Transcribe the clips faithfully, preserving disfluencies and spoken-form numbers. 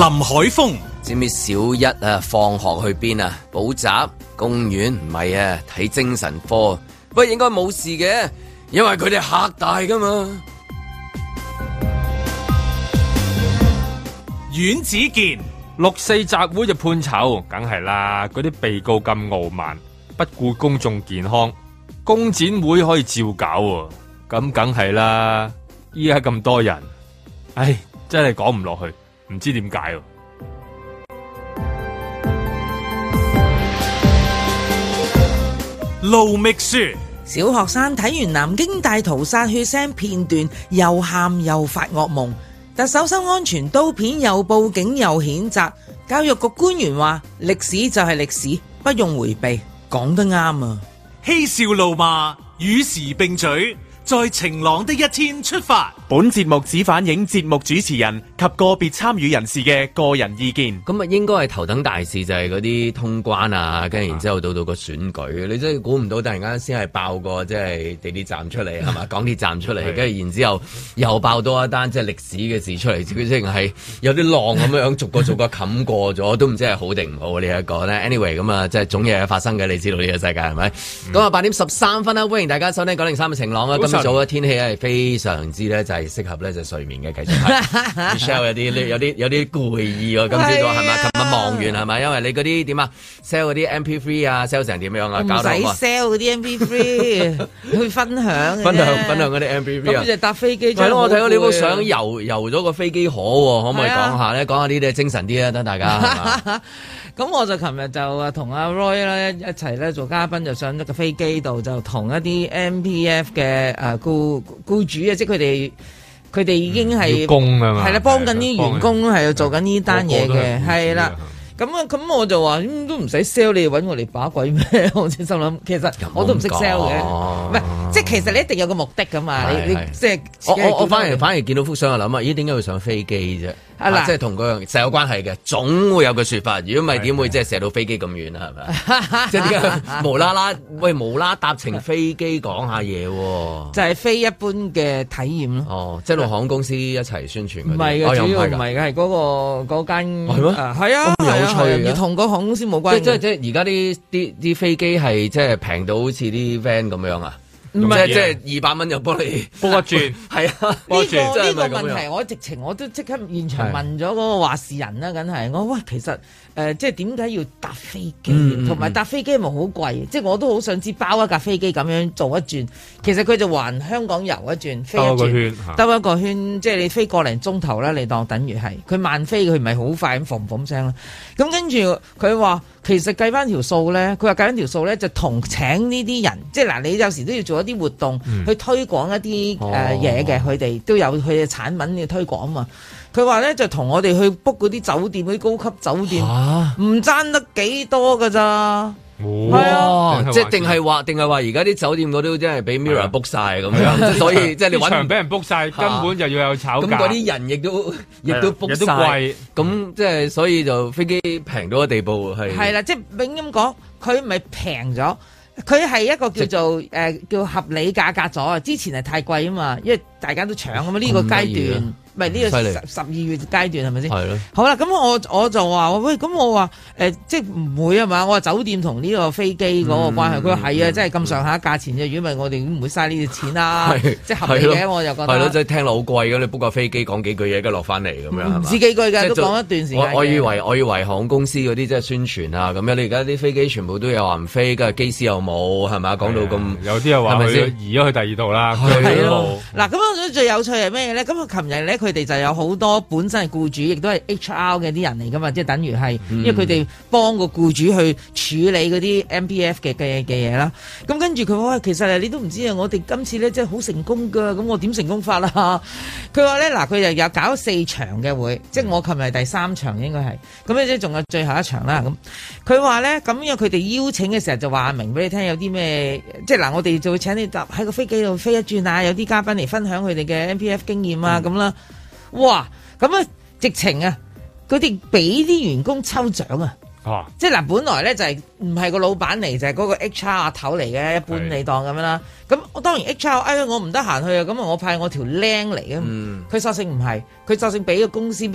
林海峰， 知唔知小一啊放學去邊啊？補習、公園唔係啊，睇精神科。不過應該冇事嘅，因為佢哋嚇大噶嘛。 阮子健， 六四集會就判囚，梗係啦。嗰啲被告咁傲慢，不顧公眾健康，公展會可以照搞喎，咁梗係啦。依家咁多人，唉，真係講唔落去，唔知點解喎。 盧覓雪， 小學生睇完南京大屠殺血腥片段，又喊又發噩夢。特首收安全刀片，又報警又譴責。教育局官員話：歷史就係歷史，不用迴避。講得啱啊！ 嬉笑怒罵，與時並舉。在晴朗的一天出發。 本節目只反映節目主持人及個別參與人士嘅個人意見。 咁啊，應該係頭等大事就係嗰啲通關啊，跟住然之後到到個選舉，你真係估唔到，突然間先係爆個即係地鐵站出嚟，係嘛？港鐵站出嚟，跟住然之後又爆多一單即係歷史嘅事出嚟，佢即係有啲浪咁樣逐個逐個冚過咗，都唔知係好定唔好呢一個咧。Anyway， 咁啊，即係總嘢發生嘅，你知道呢個世界係咪？咁啊、嗯，八點十三分啦，歡迎大家收聽九零三嘅晴朗啊！今日早嘅天氣係非常之咧，就係適合咧就睡眠嘅，繼續係。Michelle 有啲有啲有啲攰意喎，今朝早係咪？琴日忙完係咪？因為你嗰啲點啊 sell 嗰啲 M P 三 啊 sell 成點樣啊？搞到唔使 sell 嗰啲 M P 三去分享分享分享嗰啲 M P 三啊。 咁就搭飛機。 係咯，我睇到你部相遊遊咗個飛機河喎，可唔可以講下咧？講下呢啲精神啲啊，等大家。 咁我就琴日就啊同阿 Roy 咧一齊咧做嘉賓，就上咗個飛機度，就同一啲 M P F 嘅誒僱僱主啊，即係佢哋佢哋已經係工啊嘛， 係啦，幫緊啲員工係做緊呢單嘢嘅，係啦。咁啊，咁我就話、嗯、都唔使 sell， 你揾我嚟把鬼咩？我先心諗，其實我都唔識 sell 嘅，唔係即係其實你一定有個目的噶嘛，你你即係我我我反而反而見到幅相就諗啊，咦點解會上飛機啫？啊、即係同嗰樣實有關係嘅，總會有個説法。如果唔係點會即係射到飛機咁遠啊？係咪？即係點解無啦啦喂無啦搭乘飛機講下嘢喎？ 就係非一般嘅體驗咯。 哦，即係同航空公司一齊宣傳嗰啲。唔係嘅，主要唔係嘅，係嗰個嗰間係咩？ 係啊，咁有趣嘅，要同個航空公司冇關係。 即係即係而家啲啲啲飛機係即係平到好似啲 van 咁樣啊？唔係即係二百蚊就幫你幫一轉， 係啊！ 呢個呢個問題，我直情我都即刻現場問咗嗰個話事人啦，梗係我話其實誒，即係點解要搭飛機，同埋搭飛機係咪好貴？即係我都好想知包一架飛機咁樣做一轉，其實佢就環香港遊一轉，飛一轉，兜一個圈，即係你飛個零鐘頭啦，你當等於係佢慢飛，佢唔係好快咁嘭嘭聲啦。咁跟住佢話。其實計翻條數咧，佢話計翻條數咧就同請呢啲人，即係嗱，你有時都要做一啲活動、嗯、去推廣一啲誒嘢嘅，佢哋、哦、都有佢嘅產品要推廣啊嘛。佢話咧就同我哋去 book 嗰啲酒店，嗰啲高級酒店，唔爭得幾多噶咋。係啊， 即係定係話，定係話，而家啲酒店嗰啲真係俾 Mirror book 晒咁樣，所以即係你揾場俾人 book 晒，根本就要有炒價。 咁嗰啲人亦都亦都 book 晒，咁即係所以就飛機平到個地步係。係啦， 即係永咁講，佢唔係平咗，佢係一個叫做誒叫合理價格咗啊！之前係太貴啊嘛，因為大家都搶啊嘛，呢個階段。唔係呢個十十二月階段係咪先？係咯。好啦，咁我我就話喂，咁我話誒、呃，即係唔會啊嘛？我話酒店同呢個飛機嗰個關係，佢話係啊，即係咁上下價錢啫。如果唔係，我哋都唔會嘥呢啲錢啦。即係合理嘅，我就覺得。係咯， 即係聽落好貴咁，你 book 架飛機講幾句嘢，跟住落翻嚟咁樣。唔止幾句㗎，都講一段時間。 我我以為我以為航空公司嗰啲即係宣傳啊咁樣，你而家啲飛機全部都有話唔飛，跟住機師又冇，係咪啊？講到咁， 有啲又話佢移咗去第二度啦。 係咯。嗱，咁我覺得最有趣係咩咧？咁我琴日咧，佢哋就有好多本身係僱主，亦都係 H R 嘅啲人嚟噶嘛，即係等於係，因為佢哋幫個僱主去處理嗰啲 M P F 嘅嘅嘅嘢啦。咁跟住佢話，其實你都唔知啊，我哋今次咧真係好成功噶。咁我點成功法啦？佢話咧，嗱，佢就有搞四場嘅會，即係我琴日第三場應該係，咁咧即係仲有最後一場啦。咁佢話咧，咁因為佢哋邀請嘅時候就話明俾你聽有啲咩，即係嗱，我哋就會請你搭喺個飛機度飛一轉啊，有啲嘉賓嚟分享佢哋嘅 M P F 經驗啊，咁、嗯、啦。哇！咁啊，直情啊，佢哋俾啲員工抽獎啊！啊即係嗱，本來咧就係唔係個老闆嚟，就係、是、嗰個 H R 阿頭嚟嘅，一般你當咁樣啦。咁我當然 H R，哎我唔得閒去啊，咁啊我派我條僆嚟啊。佢、嗯、索性唔係，佢索性俾個公司，喂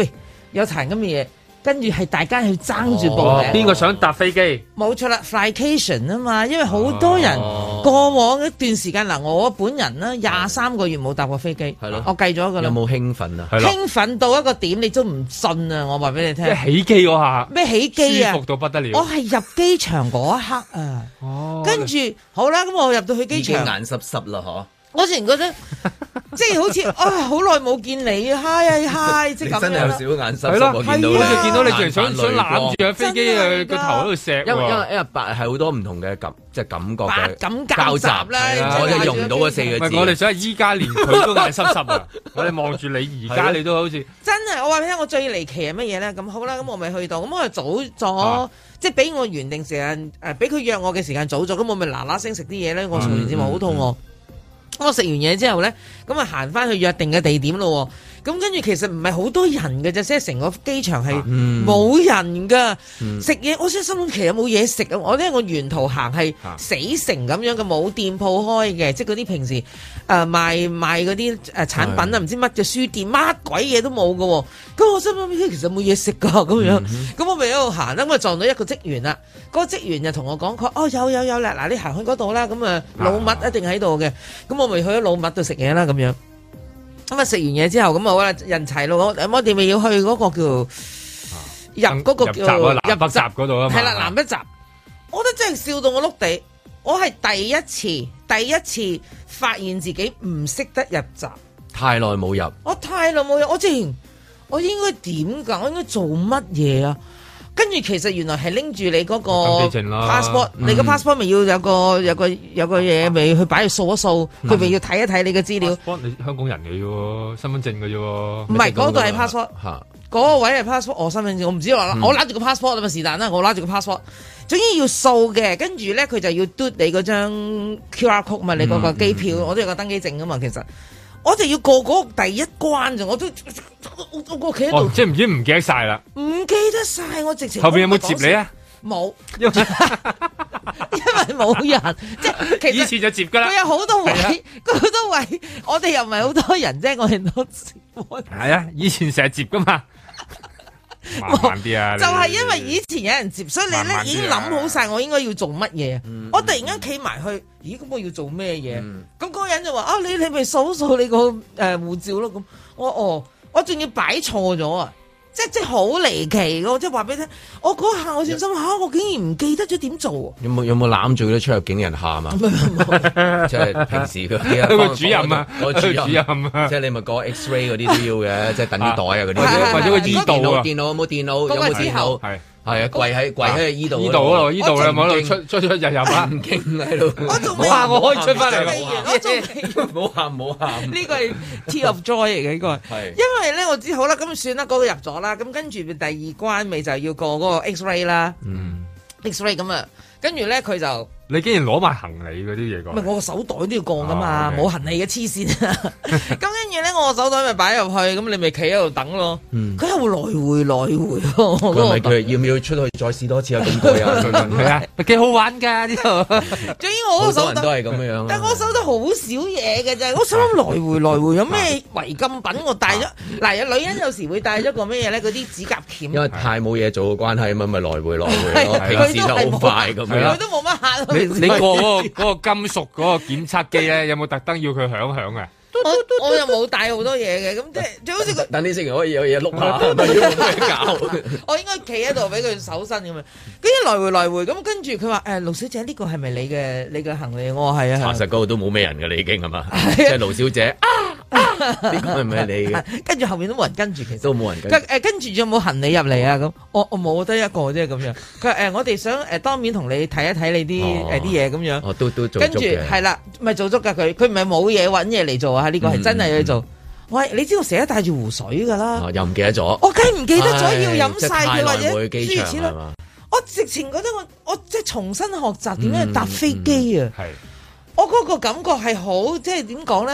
有彈咁嘅嘢。跟住係大家去爭住報名， 邊個想搭飛機？ 冇錯啦 ，Flycation 啊嘛，因為好多人過往一段時間嗱，我本人啦廿三個月冇搭過飛機， 係咯， 我計咗噶啦。 有冇興奮啊？ 興奮到一個點，你都唔信啊！我話俾你聽， 起機嗰下咩起機啊？ 舒服到不得了！ 我係入機場嗰一刻啊， 哦， 跟住好啦，咁我入到去機場， 眼濕濕啦，嗬。 我自然覺得即係好似啊，好耐冇見你啊，嗨嗨，即係咁樣。 真係有少少眼濕濕， 係咯， 我見到好似見到你仲仲想想攬住喺飛機嘅個頭喺度錫。 因為因為因為白係好多唔同嘅感，即係感覺嘅感交集啦。 我就用唔到嗰四個字。 我哋想依家連佢都眼濕濕啊！我哋望住你而家你都好似真係，我話俾你聽，我最離奇係乜嘢咧？咁好啦，咁我咪去到，咁我就早咗，即係俾我原定時間誒，俾佢約我嘅時間早咗，咁我咪嗱嗱聲食啲嘢咧。我做完節目好肚餓。我食完嘢之後咧，咁啊行翻去約定嘅地點咯。咁跟住其實唔係好多人嘅啫，即係成個機場係冇人噶。食嘢、嗯，我先心諗其實冇嘢食啊！我呢個沿途行係死城咁樣嘅，冇店鋪開嘅，即係嗰啲平時誒、呃、賣賣嗰啲誒產品啊，唔知乜嘅書店，乜鬼嘢都冇嘅。咁我心諗其實冇嘢食噶咁樣。咁、嗯、我咪喺度行啦，咁啊撞到一個職員啦。嗰、嗰個職員就同我講：佢哦有有有啦，嗱你行去嗰度啦，咁啊老麥一定喺度嘅。咁我咪去咗老麥度食嘢啦，咁樣。咁啊食完嘢之後，咁啊好啦，人齊咯，我我哋咪要去嗰個叫入嗰個叫入南北閘嗰度啊嘛， 係啦，南北閘，我覺得真係笑到我碌地，我係第一次第一次發現自己唔識得入閘， 太耐冇入， 我太耐冇入，我之前我應該點噶？我應該做乜嘢啊？跟住其實原來係拎住你嗰個 passport，你個 passport 咪要有個有個有個嘢咪去擺去掃一掃，佢咪要睇一睇你嘅資料。 passport 你香港人嚟嘅喎，身份證嘅啫喎。 唔係嗰度係 passport，嗰個位係 passport，我身份證我唔知話，我攞住個 passport 啊嘛，是但啦，我攞住個 passport，總之要掃嘅，跟住咧佢就要嘟你嗰張 Q R code 嘛，你嗰個機票，我都有個登機證噶嘛，其實。我就要過嗰個第一關咋，我都我我我企喺度， 哦、即係唔知唔記得晒啦， 唔記得晒，我直情後邊有冇接你啊？ 冇，因為因為冇人，即係其實以前就接噶啦。 佢有好多位，佢好多位，我哋又唔係好多人啫，我哋都係啊，以前成日接噶嘛。慢慢啲啊！ 就係因為以前有人接，所以你咧已經諗好晒我應該要做乜嘢。嗯、我突然間企埋去，咦？咁我要做咩嘢？咁嗰、嗯、個人就話：啊，你你咪掃掃你個誒護照咯。咁我哦，我仲要擺錯咗啊！即即好離奇嘅，即係話俾你聽，我嗰下我先心嚇，我竟然唔記得咗點做。有冇有冇攬住啲出入境人喊啊？即係平時佢個主任啊， 個主任啊，即係你咪個 X-ray 嗰啲都要嘅，即係等啲袋啊嗰啲， 或者個醫道啊， 電腦有冇電腦？有冇電腦？係。係啊，跪喺跪喺依度， 依度嗰度，依度啦，喺度出出出入入啊， 唔驚喺度。 我仲冇喊，我可以出翻嚟啦。 我仲冇喊冇喊。 呢個係 Tear of Joy 嚟嘅呢個。係。因為咧，我知好啦，咁算啦，嗰個入咗啦，咁跟住第二關咪就要過嗰個 X-ray 啦。嗯。X-ray 咁啊，跟住咧佢就。 你竟然攞埋行李嗰啲嘢過？ 唔係我個手袋都要過噶嘛，冇、oh, okay. 行李嘅黐線啊！咁跟住咧，我個手袋咪擺入去，咁你咪企喺度等咯。佢又、嗯、來回來回喎。佢咪佢要唔要出去再試多次啊？咁過癮係啊，幾好玩㗎呢度。 總之我個手袋都係咁樣樣。 但係我手袋好少嘢嘅啫，我想諗來回來回有咩違禁品我帶咗？嗱，有女人有時會帶咗個咩嘢咧？嗰啲指甲鉗。 因為太冇嘢做嘅關係，咁咪來回來回咯。平時就好快咁樣。 佢都冇乜客。 你你過嗰個嗰個金屬嗰個檢測機咧，有冇特登要佢響響啊？ 我我又冇帶好多嘢嘅，咁即係就好似佢等你食完可以有嘢碌下，唔係要咩搞？ 我應該企喺度俾佢搜身咁樣，跟住來回來回咁，跟住佢話誒盧小姐呢個係咪你嘅你嘅行李？我話係啊。查實嗰度都冇咩人㗎，你已經係嘛？即係盧小姐啊，呢個係咪你嘅？跟住後面都冇人跟住，其實都冇人跟。 誒跟住仲有冇行李入嚟啊？咁我我冇得一個啫咁樣。佢話誒我哋想誒當面同你睇一睇你啲誒啲嘢咁樣。 哦，都都做足嘅。 跟住係啦，咪做足㗎佢，佢唔係冇嘢揾嘢嚟做啊！呢個係真係要做。喂，你知道成日帶住湖水㗎啦， 又唔記得咗。 我梗係唔記得咗要飲晒佢或者諸如此類。我直情覺得我我即係重新學習點樣搭飛機啊！係，我嗰個感覺係好即係點講咧？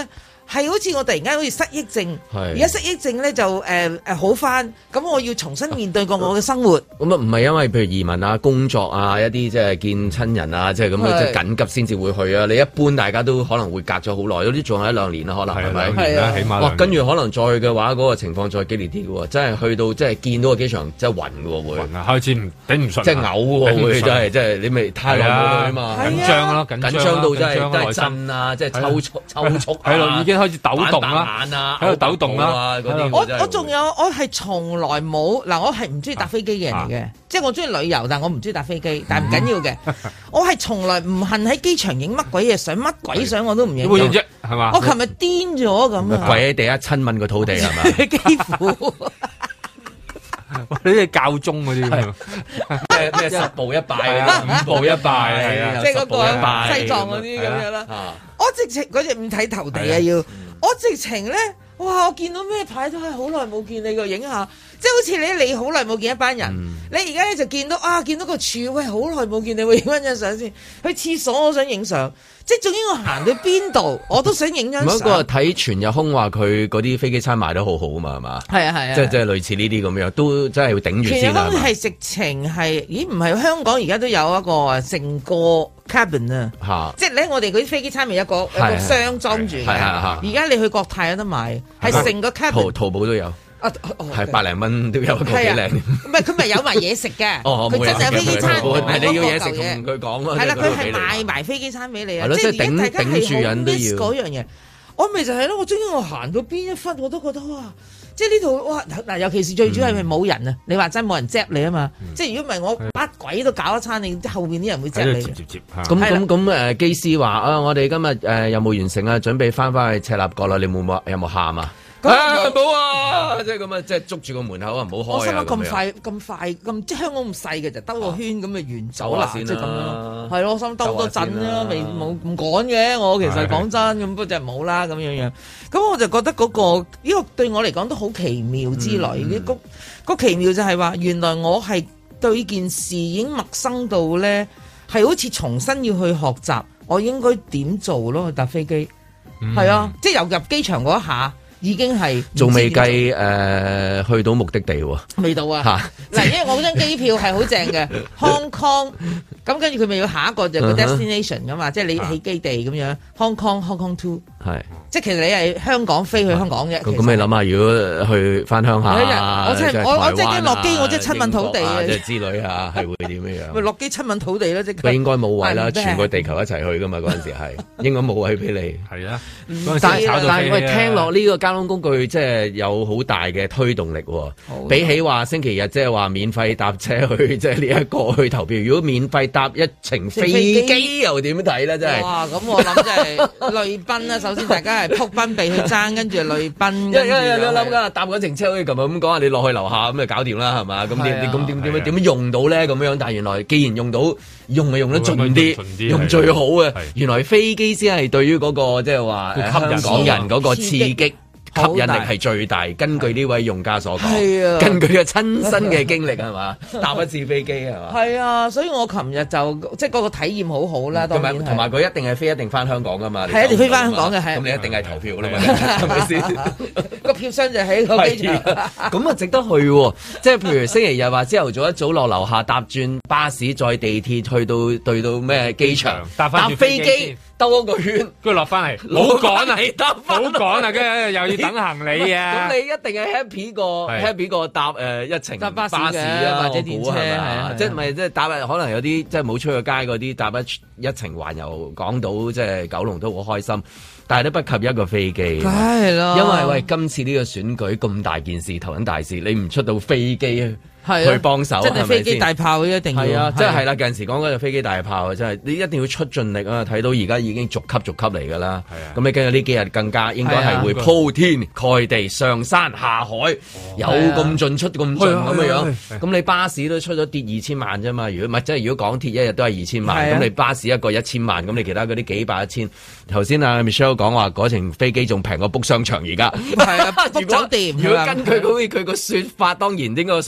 係好似我突然間好似失憶症，而家失憶症咧就誒誒好翻，咁我要重新面對過我嘅生活。 咁啊唔係因為譬如移民啊、工作啊、一啲即係見親人啊，即係咁樣即係緊急先至會去啊。你一般大家都可能會隔咗好耐，有啲仲有一兩年啦，可能係咪？ 係啊，起碼。 哇，跟住可能再去嘅話，嗰、那個情況再激烈啲嘅喎，真係去到即係見到個機場真係暈嘅喎，會暈啊，開始唔頂唔順， 即係嘔喎，會真係即係你咪太耐冇去啊嘛， 緊張咯，緊張到真係都係震啊，即係抽搐抽搐係咯，已經開始抖動啦。 眼啊， 喺度抖動啦！ 我我仲有，我係從來冇嗱，我係唔中意搭飛機嘅人嚟嘅，即係我中意旅遊，但我唔中意搭飛機，但係唔緊要嘅。我係從來唔恨喺機場影乜鬼嘢相，乜鬼相我都唔影。 會影啫，係嘛？ 我琴日癲咗咁啊！ 跪喺地下親吻個土地係嘛？ 幾乎。 你啲教宗嗰啲咩咩十步一拜啊，五步一拜啊， 即係嗰個西藏嗰啲咁樣啦。我直情嗰隻五體投地啊要。我直情咧，哇！我見到咩牌都係好耐冇見你個影下，即係好似你你好耐冇見一班人，嗯、你而家咧就見到啊，見到個柱，喂，好耐冇見你，會影翻張相先。去廁所我想影相，即係總之我行到邊度我都想影張相。 唔係嗰個睇全日空話佢嗰啲飛機餐賣得好好啊嘛，係嘛？係啊係啊，即係即係類似呢啲咁樣，都真係要頂住先啊。全日空係直情係，咦？唔係香港而家都有一個成個 cabin 啊， 啊即係咧我哋嗰啲飛機餐咪有個有個箱裝住嘅，而家你去國泰有得買，係成個 cabin。 淘淘寶都有。啊，係百零蚊都有，個幾靚。唔係佢咪有埋嘢食嘅，佢真係有飛機餐。 係你要嘢食同佢講咯。 係啦，佢係賣埋飛機餐俾你啊。 係咯，即係頂頂住人都要。 嗰樣嘢，我咪就係咯。我終於我行到邊一忽，我都覺得哇！即係呢度哇嗱，尤其是最主要係咪冇人啊？你話真冇人接你啊嘛！即係如果唔係我乜鬼都搞一餐，你後邊啲人會接你。 接接接咁咁咁誒，機師話啊，我哋今日誒任務完成啊，準備翻返去赤鱲角啦。你冇冇有冇喊啊？ 冇啊！即係咁啊，即係捉住個門口啊，唔好開啊！ 我心諗咁快咁快咁，即係香港咁細嘅就兜個圈咁就完走啦，即係咁樣。係咯，我心兜多陣啦，未冇唔趕嘅。我其實講真咁，不過就冇啦咁樣樣。咁我就覺得嗰個呢個對我嚟講都好奇妙之類。個個奇妙就係話，原來我係對件事已經陌生到咧，係好似重新要去學習，我應該點做咯？去搭飛機係啊，即係由入機場嗰一下。已經係仲未計誒去到目的地喎， 未到啊！嗱，因為我嗰張機票係好正嘅，Hong Kong，咁跟住佢咪要下一個就個 destination 噶嘛，即係你起基地咁樣 ，Hong Kong，Hong Kong two，係，即係其實你係香港飛去香港嘅。 咁你諗下，如果去翻鄉下， 我真係我我即係落機，我即係親吻土地啊！ 即係之類啊，係會點樣？ 咪落機親吻土地咯，即係。 佢應該冇位啦，全個地球一齊去噶嘛，嗰陣時係應該冇位俾你。 係啊， 但係喂，聽落呢個交通工具即係有好大嘅推動力喎，比起話星期日即係話免費搭車去即係呢一個去投票，如果免費搭一程飛機又點睇咧？真係哇！ 咁我諗即係淚奔啦。首先大家係撲奔避去爭，跟住淚奔。 因為因為你諗緊搭嗰程車好似琴日咁講啊，你落去樓下咁就搞掂啦，係嘛？咁點咁點點樣點樣用到咧？咁樣，但係原來既然用到，用係用得盡啲，用最好嘅。原來飛機先係對於嗰個即係話香港人嗰個刺激。吸引力係最大，根據呢位用家所講，啊、根據佢親身嘅經歷係嘛，搭一次飛機係嘛， 係啊，所以我琴日就即係嗰個體驗好好啦。同埋同埋佢一定係飛一定翻香港噶嘛， 係一定飛翻香港嘅，係咁你一定係投票啦嘛，係咪先？ 個票箱就喺個機場， 咁啊值得去喎。即係譬如星期日話朝頭早一早落樓下搭轉巴士，再地鐵去到對到咩機場， 搭翻飛機。兜一個圈， 跟住落翻嚟，好趕啊！好趕啊！跟住又要等行李啊！ 咁你一定係 happy 過 happy 過搭誒一程巴士啊， 或者電車係嘛？即係咪即係搭可能有啲即係冇出過街嗰啲搭一一程環遊港島，即係九龍都好開心，但係都不及一個飛機。 梗係咯， 因為喂今次呢個選舉咁大件事，頭等大事，你唔出到飛機啊！ 係去幫手， 真係飛機大炮一定要係啊！即係係啦，近時講嗰隻飛機大炮啊，真係你一定要出盡力啊！睇到而家已經逐級逐級嚟㗎啦。係啊，咁你跟住呢幾日更加應該係會鋪天蓋地上山下海，有咁進出咁進咁嘅樣。咁你巴士都出咗跌二千萬啫嘛？如果唔係即係如果港鐵一日都係二千萬，咁你巴士一個一千萬，咁你其他嗰啲幾百一千。頭先阿 Michelle 講話嗰程飛機仲平過 book 商場而家。 係啊，book 酒店。 如果根據好似佢個説法，當然應該個數字應該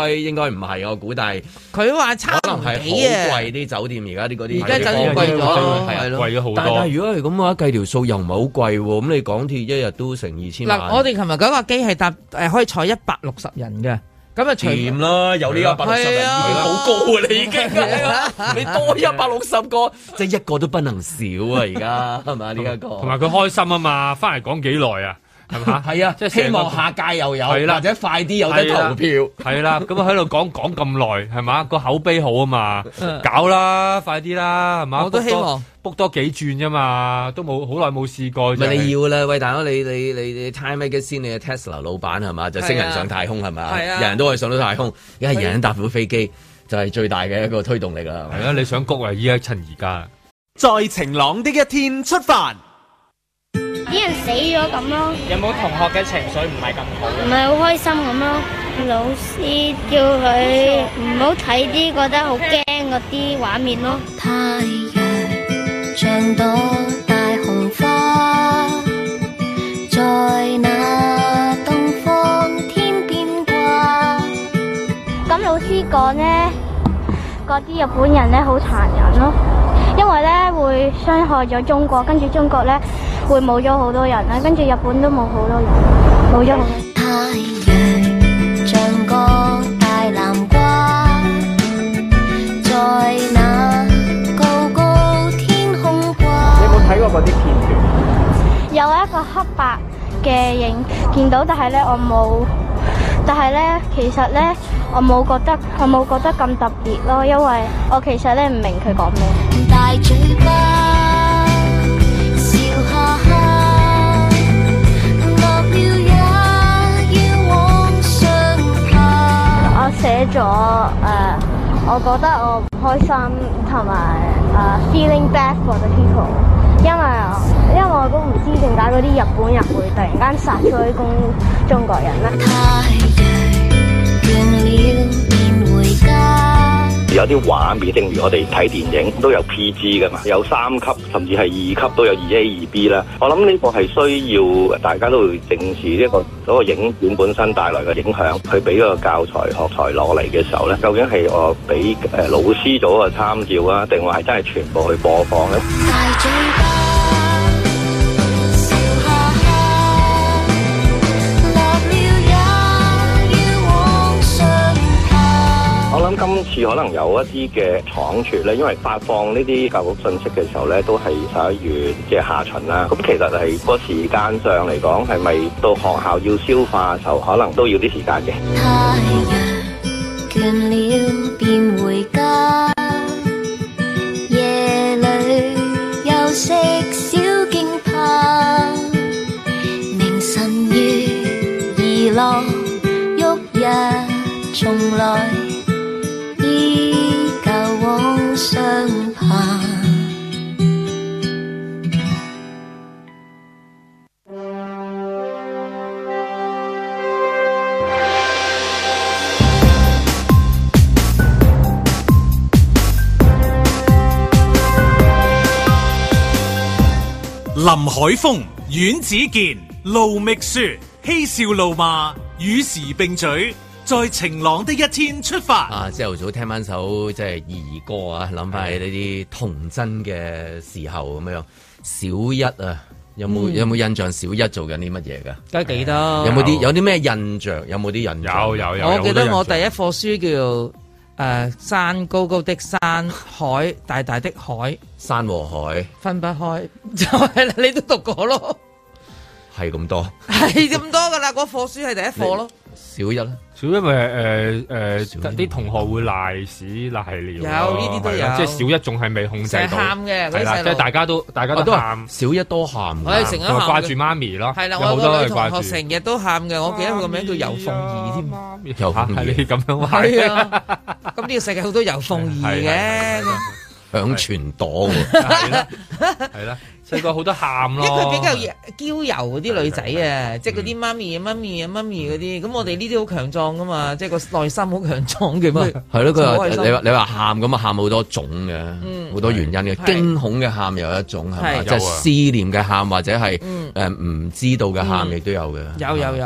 該應該唔係我估，但係佢話差可能係好貴啲酒店而家啲嗰啲， 而家酒店貴咗， 係咯， 貴咗好多。 但係如果係咁嘅話，計條數又唔係好貴喎。咁你港鐵一日都成二千萬。 嗱，我哋琴日嗰架機係搭誒可以坐一百六十人嘅。咁啊， 掂啦，有呢一百六十人已經好高啊！你已經，你多一百六十個，即係一個都不能少啊！而家係咪呢一個？ 同埋佢開心啊嘛，翻嚟講幾耐啊？係嘛？ 係啊，即係希望下屆又有，或者快啲有得投票。 係啦，咁啊喺度講講咁耐，係嘛？個口碑好啊嘛，搞啦，快啲啦，係嘛？ 我都希望 book 多幾轉啫嘛，都冇好耐冇試過。 咪你要啦，喂大佬，你你你你 Time Magazine 你嘅 Tesla 老闆係嘛？就星人上太空係咪？係啊，人人都可以上到太空，而家人人搭到飛機就係最大嘅一個推動力啦。 係啊，你想谷啊？依家趁而家， 在晴朗的一天出發。 啲人死咗咁咯。 有冇同學嘅情緒唔係咁好？ 唔係好開心咁咯。老師叫佢唔好睇啲覺得好驚嗰啲畫面咯。太陽像朵大紅花，在那東方天邊掛。咁老師講呢，嗰啲日本人咧好殘忍咯，因為咧會傷害咗中國，跟住中國咧會冇咗好多人啦，跟住日本都冇好多人，冇咗好多。太陽像個大南瓜，在那高高天空掛。 你有冇睇過嗰啲片段？ 有一個黑白嘅影見到，但係咧我冇，但係咧其實咧我冇覺得，我冇覺得咁特別咯，因為我其實咧唔明佢講咩。大嘴巴笑哈哈，落了也要往上爬。我寫咗誒、呃，我覺得我唔開心，同埋誒 feeling bad for the people，因為因為我都唔知點解嗰啲日本人會突然間殺咗啲中中國人咧。 有啲畫面，正如我哋睇電影都有 P G 噶嘛，有三級甚至係二級都有二 A 二 B 啦。我諗呢個係需要大家都會正視呢個嗰個影片本身帶來嘅影響，去俾個教材學材攞嚟嘅時候咧，究竟係我俾誒老師做個參照啊，定話係真係全部去播放咧？我諗今次可能有一啲嘅倉促咧，因為發放呢啲教育信息嘅時候咧，都係十一月嘅下旬啦。咁其實係個時間上嚟講，係咪到學校要消化嘅時候，可能都要啲時間嘅。太陽倦了便回家，夜裏休息小徑旁，明晨月兒落，旭日重來。依舊往上爬。 林海峰、阮子健、盧覓雪，嬉笑怒罵，與時並舉。在晴朗的一天出發啊！朝頭早聽翻首即係兒歌啊，諗翻起呢啲童真嘅時候咁樣。小一啊，有冇、嗯、有冇印象？小一做緊啲乜嘢㗎？ 梗係記得。 有冇啲有啲咩印象？有冇啲印象？ 有有有。 我記得我第一課書叫做誒、呃、山高高的山，海大大的海， 山和海分不開，就係啦。你都讀過咯， 係咁多， 係咁多㗎啦。嗰課書係第一課咯。 小一啦， 小一咪誒誒啲同學會賴屎賴尿， 有呢啲都有， 即係小一仲係未控制到， 喊嘅，係啦， 即係大家都大家都喊， 小一多喊， 我哋成日喊， 掛住媽咪咯， 係啦，我個女同學成日都喊嘅，我記得佢個名叫游鳳儀添， 游鳳儀係你咁樣話， 係啊，咁呢個世界好多游鳳儀嘅， 響全朵喎， 係啦，係啦。細個好多喊咯， 因為佢比較嬌柔嗰啲女仔啊，即係嗰啲媽咪啊、媽咪啊、媽咪嗰啲，咁我哋呢啲好強壯噶嘛，即係個內心好強壯嘅嘛。 係咯，佢話你話你話喊咁啊，喊好多種嘅，好、嗯、多原因嘅，驚恐嘅喊有一種係嘛，即係思念嘅喊或者係誒唔知道嘅喊亦都有嘅。 有有有。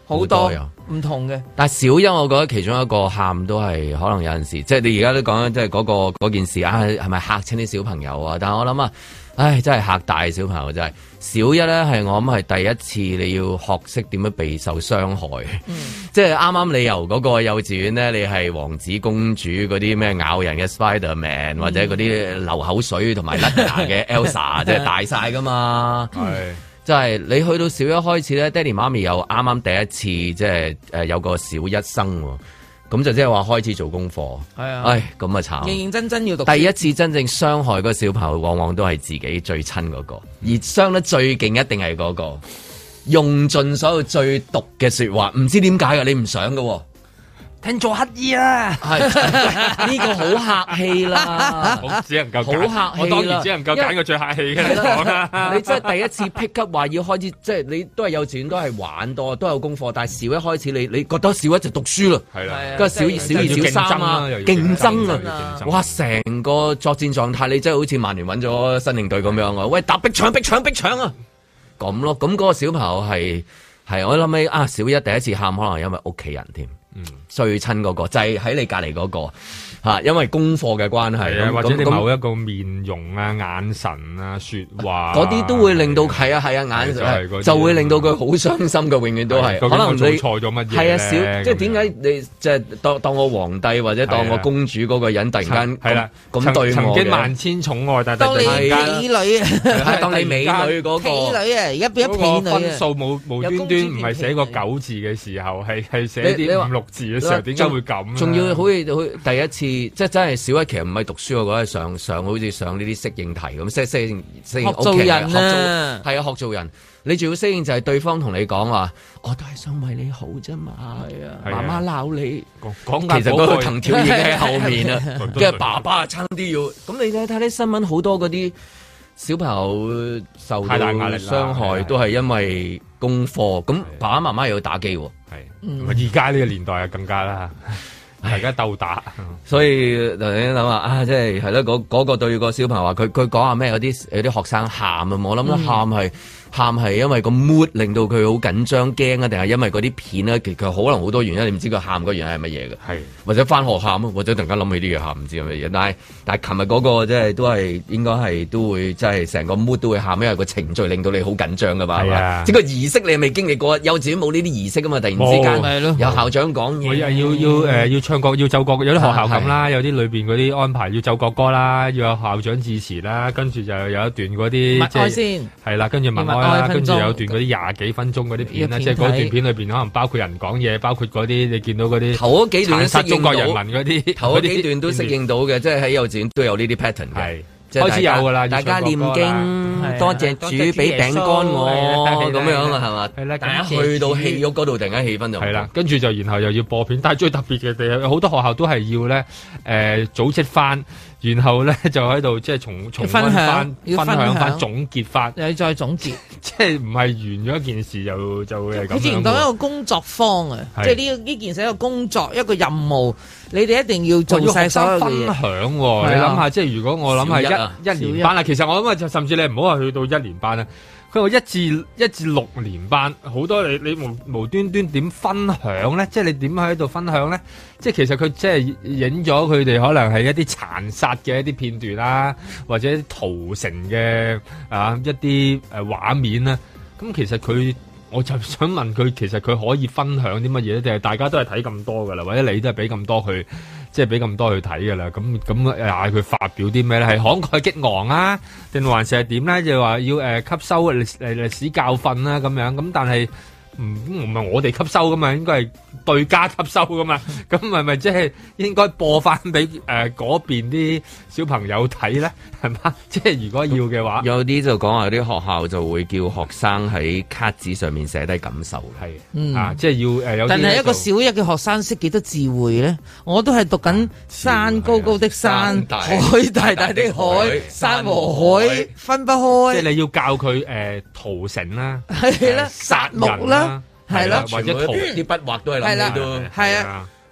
好多唔同嘅。 但係小一，我覺得其中一個喊都係可能有陣時，即係你而家都講緊，即係嗰個嗰件事啊，係咪嚇親啲小朋友啊？但係我諗啊，唉，真係嚇大小朋友真係。小一咧係我諗係第一次你要學識點樣備受傷害，嗯、即係啱啱你由嗰個幼稚園咧，你係王子公主嗰啲咩咬人嘅 Spiderman、嗯、或者嗰啲流口水同埋甩牙嘅 Elsa，即係大晒噶嘛。係、嗯，即係你去到小一開始咧，爹哋媽咪又啱啱第一次即係誒有個小一生。咁就即係話開始做功課，係啊，唉，咁啊慘，認認真真要讀。 第一次真正傷害嗰個小朋友，往往都係自己最親嗰個，而傷得最勁一定係嗰個，用盡所有最毒嘅說話，唔知點解㗎，你唔想㗎。聽做乞衣啦，係呢個好客氣啦， 我只能夠好客氣， 我當然只能夠揀個最客氣嘅嚟講啦。 你真係第一次 pick up 話要開始，即係你都係幼稚園都係玩多，都有功課，但係小一開始你你覺得小一就讀書啦，係啦，跟住小二小二小三啊，競爭啊，哇，成個作戰狀態你真係好似曼聯揾咗新領隊咁樣啊！喂，打逼搶逼搶逼搶啊！咁咯，咁嗰個小朋友係係我諗起啊，小一第一次喊可能因為屋企人添。嗯，最親嗰、那個就係、是、喺你隔籬嗰個吓，因為功課嘅關係， 或者你某一個面容啊、眼神啊、說話嗰啲都會令到係啊係啊眼神就，就會令到佢好傷心嘅，永遠都係。可能你做錯咗乜嘢係啊，小即係點解你即係當當我皇帝或者當我公主嗰個人突然間係啦咁對我曾經萬千寵愛，但係當你美女啊， 當你美女嗰、那個美女啊，而家變咗婢女啊， 分數冇無端端唔係寫個九字嘅時候，係係寫啲五六字嘅時候，點解會咁？ 仲要好似好第一次，即係真係小一，其實唔係讀書，我覺得上上好似上呢啲適應題咁，適適應適應學做人啊， 係啊，學做人。你仲要適應就係對方同你講話，我都係想為你好啫嘛。係啊，媽媽鬧你，講其實嗰個藤條已經喺後面啦，跟住爸爸差啲要。咁你睇睇啲新聞，好多嗰啲小朋友受到傷害，都係因為功課。咁爸爸媽媽又要打機，係。 而家呢個年代啊，更加啦，大家鬥打， 所以頭先諗下啊，即係係咯，嗰嗰個對個小朋友話，佢佢講下咩？有啲有啲學生喊啊，我諗咧喊係。喊係因為個 mood 令到佢好緊張驚啊，定係因為嗰啲片咧？其實可能好多原因，你唔知佢喊嗰原因係乜嘢嘅。係或者翻學喊啊，或者突然間諗起啲嘢喊，唔知係乜嘢。但係但係琴日嗰個即係都係應該係都會即係成個 mood 都會喊，因為個程序令到你好緊張噶嘛。係啊，即係個儀式你係未經歷過，幼稚園冇呢啲儀式噶嘛。突然之間有校長講嘢， 要要要誒要唱國要奏國，有啲學校咁啦，有啲裏邊嗰啲安排要奏國歌啦，要有校長致辭啦，跟住就有一段嗰啲默哀先係啦，跟住默哀啦，跟住有。段嗰啲廿幾分鐘嗰啲片啦，即係嗰段片裏邊可能包括人講嘢，包括嗰啲你見到嗰啲頭嗰幾段殘殺中國人民嗰啲， 頭嗰幾段都適應到嘅，即係喺幼稚園都有呢啲 pattern 嘅， 開始有噶啦， 大家念經，多謝主俾餅乾我咁樣啊，係嘛？係啦，大家去到戲屋嗰度，突然間氣氛就係啦，跟住就然後又要播片，但係最特別嘅地，好多學校都係要咧誒組織翻。然後咧就喺度即係重重溫翻、分享翻、總結翻， 又再總結， 即係唔係完咗一件事就就會係咁樣。 好似當一個工作坊啊，即係呢呢件事一個工作一個任務，你哋一定要做晒所有嘅嘢。 分享，你諗下，即係如果我諗係一一年班啦，其實我諗就甚至你唔好話去到一年班啦。佢話一至一至六年班，好多你你無無端端點分享咧？即係你點喺度分享咧？即係其實佢即係影咗佢哋可能係一啲殘殺嘅一啲片段啦，或者屠城嘅啊一啲誒畫面啦。咁其實佢，我就想問佢，其實佢可以分享啲乜嘢咧？定係大家都係睇咁多噶啦，或者你都係俾咁多佢？即係俾咁多去睇㗎啦，咁咁嗌佢發表啲咩咧？係慷慨激昂啊，定還是係點咧？就話要誒、呃、吸收歷誒歷史教訓啦、啊、咁樣，咁但係唔唔係我哋吸收噶嘛，應該係對家吸收噶嘛，咁係咪即係應該播翻俾誒嗰邊啲小朋友睇咧？係嘛？即係如果要嘅話， 有啲就講話有啲學校就會叫學生喺卡紙上面寫低感受，係嗯啊，即係要誒有。 但係一個小一嘅學生識幾多字彙咧？我都係讀緊山高高的山， 大海大大的海，山和海分不開。 即係你要教佢誒屠城啦， 係啦，殺戮啦。係啦， 或者塗啲筆畫都係諗起都係啊，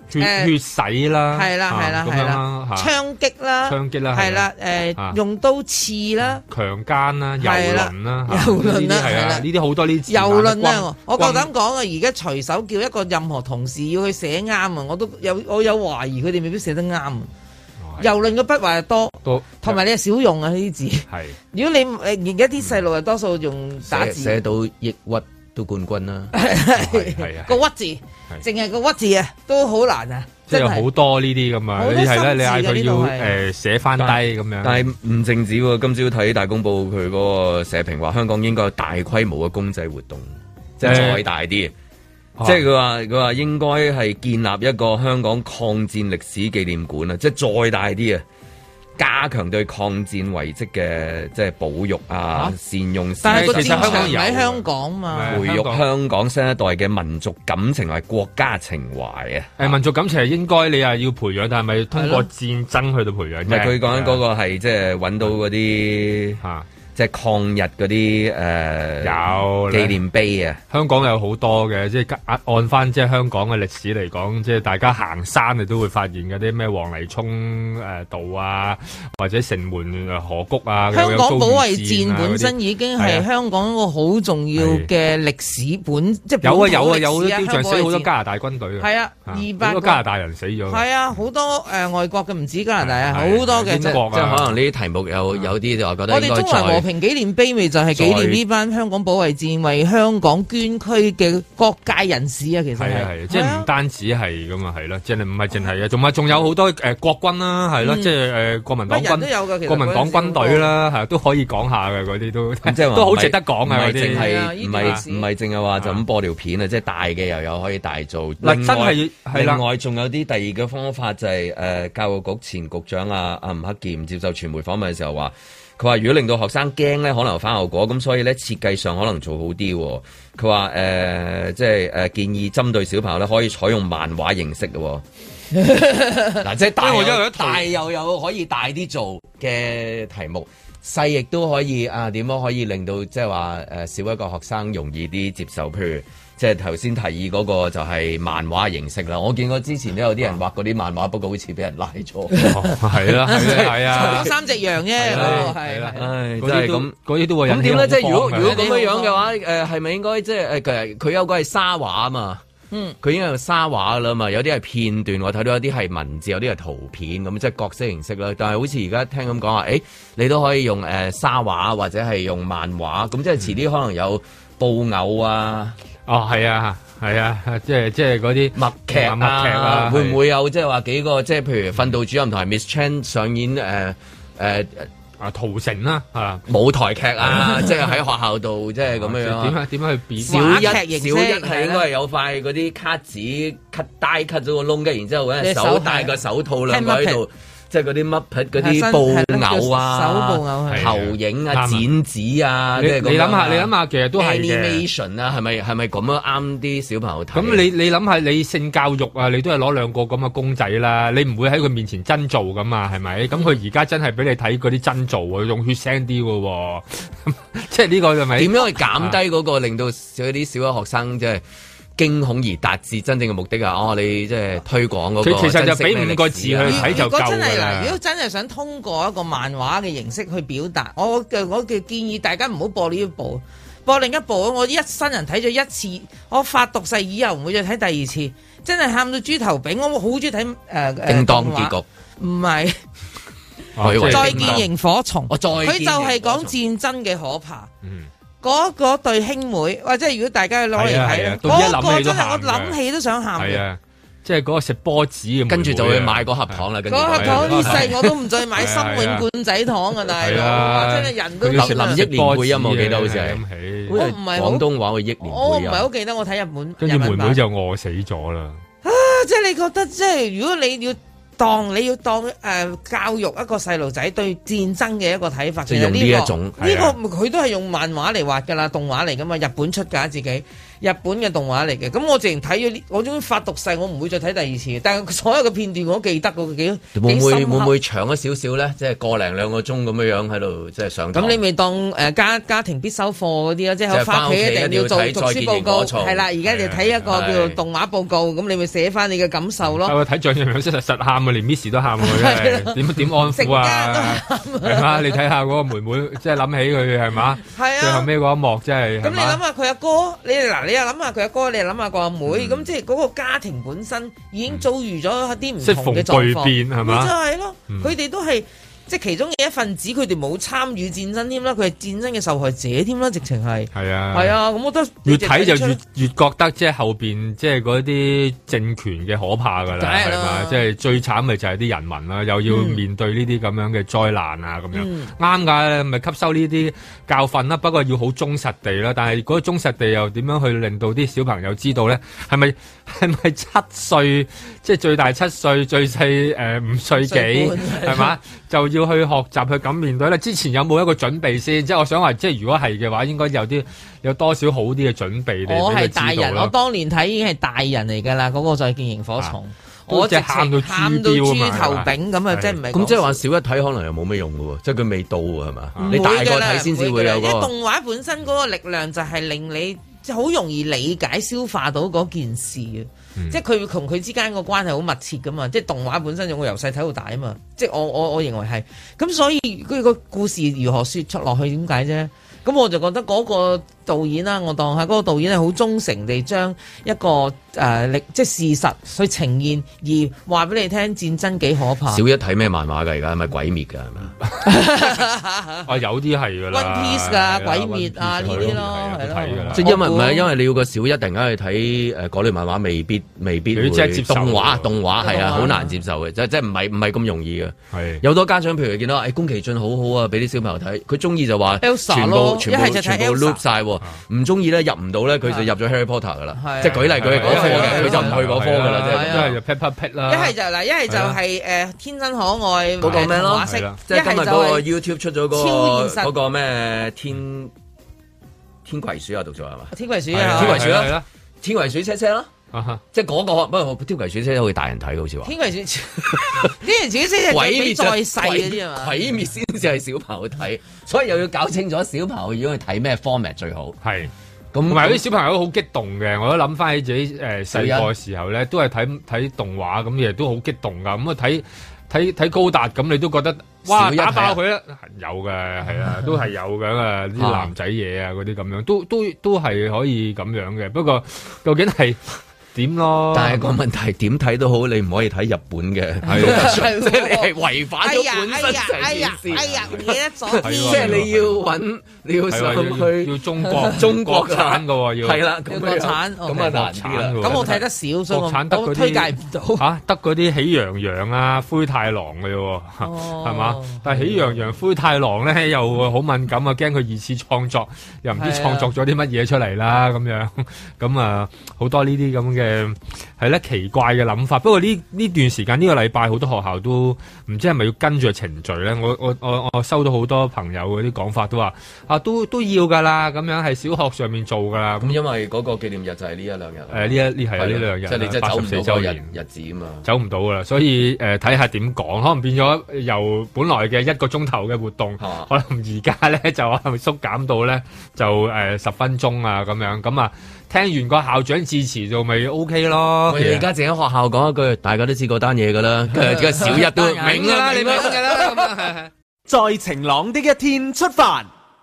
血血洗啦， 係啦係啦係啦，槍擊啦， 槍擊啦， 係啦誒，用刀刺啦， 強姦啦，遊輪啦， 遊輪啦，係啦， 呢啲好多呢啲遊輪啊！我夠膽講啊！而家隨手叫一個任何同事要去寫啱啊，我都有我有懷疑佢哋未必寫得啱。遊輪嘅筆畫多，同埋你係少用啊呢啲字。係，如果你誒而家啲細路係多數用打字， 寫到抑鬱都冠軍啦。 係啊， 個屈字，淨係個屈字啊，都好難啊。 即係好多呢啲咁啊，你係咧，你嗌佢要誒寫翻低咁樣。 但係唔淨止喎，今朝睇大公報佢嗰個社評話，香港應該有大規模嘅公祭活動，即係再大啲。即係佢話佢話應該係建立一個香港抗戰歷史紀念館啊！即係再大啲啊，加強對抗戰遺跡嘅即係保育啊，啊善用。 但係個戰場喺香港嘛， 培育香港新一代嘅民族感情同國家情懷啊！ 誒，民族感情係應該你係要培養，但係咪通過戰爭去到培養？ 唔係佢講緊嗰個係即係揾到嗰啲嚇。即係抗日嗰啲誒有紀念碑啊！ 香港有好多嘅，即係按翻即係香港嘅歷史嚟講，即係大家行山你都會發現嗰啲咩黃泥涌誒道啊，或者城門河谷啊。 香港保衛戰本身已經係香港一個好重要嘅歷史本，即係有啊有啊有啲雕像死好多加拿大軍隊係啊，二百好多加拿大人死咗。 係啊，好多誒外國嘅唔止加拿大啊，好多嘅即係可能呢啲題目有有啲就我覺得應該再。 平紀念碑咪就係紀念呢班香港保衛戰為香港捐軀嘅各界人士啊，其實係係即係唔單止係咁啊，係啦，即係唔係淨係啊，仲係仲有好多誒國軍啦，係咯，即係誒國民黨軍都有嘅，國民黨軍隊啦，係都可以講下嘅嗰啲都即係都好值得講啊，嗰啲唔係唔係淨係話就咁播條片啊，即係大嘅又有可以大做。 嗱真係係啦， 另外仲有啲第二個方法就係誒教育局前局長啊阿吳克儉接受傳媒訪問嘅時候話。佢話：如果令到學生驚咧，可能有反效果，咁所以咧設計上可能做好啲。佢話誒，即係誒、呃、建議針對小朋友咧，可以採用漫畫形式嘅。嗱，即係大又大又有可以大啲做嘅題目，細亦都可以啊？點樣可以令到即係話誒少一個學生容易啲接受？譬如。即係頭先提議嗰個就係漫畫形式啦，我見過之前都有啲人畫嗰啲漫畫，不過好似俾人拉咗。 係啦，係啊， 三隻羊啫，嗰個係。 唉，真係咁， 嗰啲都會。 咁點咧？即係如果如果咁樣樣嘅話，誒係咪應該即係誒佢佢有個係沙畫啊嘛？嗯，佢已經係沙畫啦嘛，有啲係片段，我睇到有啲係文字，有啲係圖片咁，即係各式形式啦。但係好似而家聽咁講話，誒你都可以用誒沙畫或者係用漫畫，咁即係遲啲可能有布偶啊。 哦，係啊，係啊，即係即係嗰啲默劇啊， 默劇啊， 會唔會有即係話幾個即係譬如訓導主任同埋 Miss Chan 上演誒誒啊屠城啦啊舞台劇啊，即係喺學校度即係咁樣樣。 點樣點樣去變？ 小一小一係應該係有塊嗰啲卡紙 cut 帶 cut 咗個窿嘅，然之後揾隻手戴個手套兩個喺度。即係嗰啲乜匹嗰啲布偶啊、 手布偶、 投影啊、剪紙啊， 你你諗下，你諗下，其實都係 animation 啊，係咪係咪咁樣啱啲小朋友睇？ 咁你你諗下，你性教育啊，你都係攞兩個咁嘅公仔啦，你唔會喺佢面前真做噶嘛，係咪？咁佢而家真係俾你睇嗰啲真做啊，用血腥啲嘅喎，即係呢個係咪？ 點樣去減低嗰個令到嗰啲小學學生即係？驚恐而達至真正嘅目的啊！哦，你即係推廣嗰個， 其實就俾五個字去睇就夠㗎啦。 如果真係想通過一個漫畫嘅形式去表達，我嘅我嘅建議大家唔好播呢一部，播另一部。我一生人睇咗一次，我發毒誓以後唔會再睇第二次。真係喊到豬頭炳，我好中意睇誒誒叮當結局， 唔係、 哦、 再見螢火蟲。 佢就係講戰爭嘅可怕。嗯嗰嗰對兄妹，或者如果大家攞嚟睇，嗰個真係我諗起都想喊嘅。 即係嗰個食波子咁， 跟住就會買個盒糖啦。嗰盒糖啲細我都唔再買心永罐仔糖啊！大佬，真係人都林林憶蓮配音，我記得好似係。 我唔係廣東話嘅憶蓮配音。 我唔係好記得，我睇日本。 跟住妹妹就餓死咗啦。 啊！即係你覺得，即係如果你要。當你要當誒、呃、教育一個細路仔對戰爭嘅一個睇法， 即係用呢一種呢、呢個佢、呢個、都係用漫畫嚟畫㗎啦，動畫嚟㗎嘛，日本出㗎自己。 日本嘅動畫嚟嘅。咁我直情睇咗呢，我終於發毒誓，我唔會再睇第二次。但係所有嘅片段我都記得嗰幾會唔會會唔會長咗少少咧？即係個零兩個鐘咁樣樣喺度即係上堂。 咁你咪當誒家家庭必修課嗰啲咯，即係翻屋企一定要做讀書報告。係啦，而家你睇一個叫做動畫報告，咁你咪寫翻你嘅感受咯。 我睇象樣樣實實喊啊，連 Miss 都喊喎，點點安撫啊？係嘛？你睇下嗰個妹妹，即係諗起佢係嘛？係啊。最後尾嗰一幕真係。咁你諗下佢阿哥，你嗱你又諗下佢阿哥，你又諗下個阿妹，咁即係嗰個家庭本身已經遭遇咗一啲唔同嘅狀況，變係嘛？就係咯，佢哋都係。即係其中嘅一份子，佢哋冇參與戰爭添啦，佢係戰爭嘅受害者添啦，直情係。係啊，係啊，咁我覺得越睇就越越覺得即係後邊即係嗰啲政權嘅可怕㗎啦，係嘛？即係最慘咪就係啲人民啦，又要面對呢啲咁樣嘅災難啊咁樣。啱㗎，咪吸收呢啲教訓啦，不過要好忠實地啦。但係嗰個忠實地又點樣去令到啲小朋友知道咧？係咪係咪七歲？即係最大七歲，最細誒五歲幾係嘛？就要去學習去咁面對咧。之前有冇一個準備先？即係我想話，即係如果係嘅話，應該有啲有多少好啲嘅準備嚟。 我係大人，我當年睇已經係大人嚟㗎啦。嗰、那個再見螢火蟲，啊、我直情喊到豬頭炳咁啊！即係唔係？咁即係話小一睇可能又冇咩用㗎喎，即係佢未到係嘛？你大個睇先至會有、那個。 因為動畫本身嗰個力量就係令你好容易理解消化到嗰件事嘅。嗯、即係佢同佢之間個關係好密切噶嘛，即係動畫本身我由細睇到大啊嘛，即係我我我認為係，咁所以佢個故事如何說出落去點解啫？咁我就覺得嗰個導演啦，我當下嗰個導演係好忠誠地將一個誒歷、呃、即係事實去呈現，而話俾你聽戰爭幾可怕。 小一睇咩漫畫㗎？而家係咪鬼滅㗎？係咪啊，有啲係㗎啦 One Piece 㗎，鬼滅啊呢啲咯，係咯。 即係因為唔係因為你要個小一突然間去睇誒嗰類漫畫，未必未必會。即係接受動畫，動畫係啊，好難接受嘅，即係即係唔係唔係咁容易嘅。係有好多家長，譬如見到誒宮崎駿好好啊，俾啲小朋友睇，佢中意就話全部全部全部 loop 曬，唔中意咧入唔到咧，佢就入咗 Harry Potter 噶啦。即係舉例佢係嗰科嘅，佢就唔去嗰科噶啦。即係就 Peppa Pig 啦。 一係就嗱，一係就係誒天真可愛嗰個咩咯？即係今日嗰個 YouTube 出咗嗰個嗰個咩天天葵鼠啊，讀咗係嘛？ 天葵鼠啊， 天葵鼠啦，天葵鼠車車咯。即係嗰個，不過天葵鼠車車好似大人睇，好似話。天葵鼠，天葵鼠車車鬼滅再細嗰啲啊嘛， 鬼滅先至係小朋友睇，所以又要搞清楚小朋友如果去睇咩 format 最好。係，咁同埋啲小朋友都好激動嘅，我都諗翻起自己誒細個嘅時候咧，都係睇睇動畫咁，亦都好激動噶。咁啊睇睇睇高達咁，你都覺得哇打爆佢啦，有嘅係啊，都係有嘅啲男仔嘢啊嗰啲咁樣，都都都係可以咁樣嘅。不過究竟係點咯？ 但係個問題點睇都好，你唔可以睇日本嘅，即係你係違反咗本身成件事。 哎呀，唔記得咗， 即係你要揾，你要上去要中國中國產嘅喎，要係啦， 國產咁啊難啲啦。 咁我睇得少，所以我推介唔到嚇，得嗰啲喜羊羊啊、灰太狼嘅喎，係嘛？但係喜羊羊、灰太狼咧又好敏感啊，驚佢二次創作，又唔知創作咗啲乜嘢出嚟啦咁樣。咁啊好多呢啲咁嘅。誒，係咧奇怪嘅諗法，不過呢呢段時間呢個禮拜好多學校都唔知係咪要跟住程序咧？我我我我收到好多朋友嗰啲講法，都話啊都都要噶啦，咁樣係小學上面做噶啦。 咁因為嗰個紀念日就係呢一兩日。 誒呢一呢係啊呢兩日， 即係你即係走唔到嗰日日子啊嘛， 走唔到噶啦。所以誒睇下點講，可能變咗由本來嘅一個鐘頭嘅活動，可能而家咧就可能縮減到咧就誒十分鐘啊咁樣咁啊。聽完個校長致辭就咪 O K 咯。 我哋而家淨喺學校講一句，大家都知嗰單嘢噶啦，跟住小一都明啦，你明噶啦。 在晴朗的一天出發，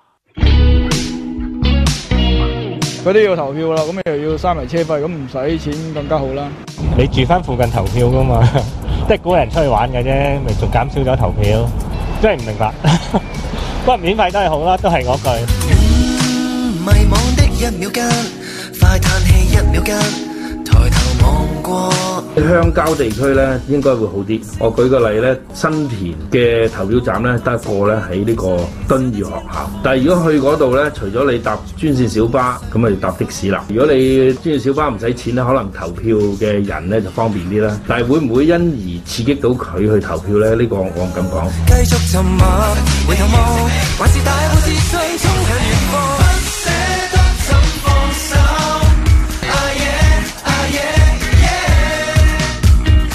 嗰啲要投票啦，咁又要三圍車費，咁唔使錢更加好啦。 你住翻附近投票噶嘛，即係鼓勵人出去玩嘅啫，咪仲減少咗投票，真係唔明白。不過免費都係好啦，都係嗰句。迷惘的一秒間，快嘆氣一秒間，抬頭望過。 鄉郊地區咧應該會好啲。我舉個例咧，新田嘅投票站咧得一個咧喺呢個敦義學校。但係如果去嗰度咧，除咗你搭專線小巴，咁咪搭的士啦。如果你專線小巴唔使錢咧，可能投票嘅人咧就方便啲啦。但係會唔會因而刺激到佢去投票咧？呢、這個我唔敢講。繼續沉默，回頭望，還是大步自信衝向遠方。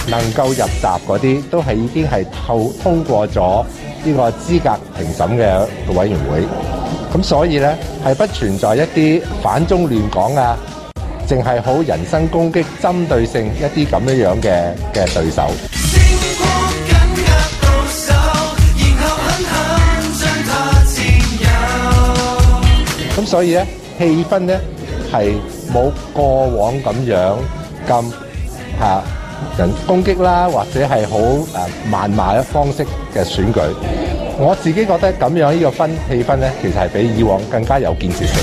能夠入閘嗰啲，都係已經係透通過咗呢個資格評審嘅委員會。咁所以咧係不存在一啲反中亂港啊，淨係好人身攻擊、針對性一啲咁樣樣嘅嘅對手。咁所以咧氣氛咧係冇過往咁樣咁嚇人攻擊啦，或者係好誒謾罵嘅方式嘅選舉。我自己覺得咁樣呢個分氣氛咧，其實係比以往更加有建設性。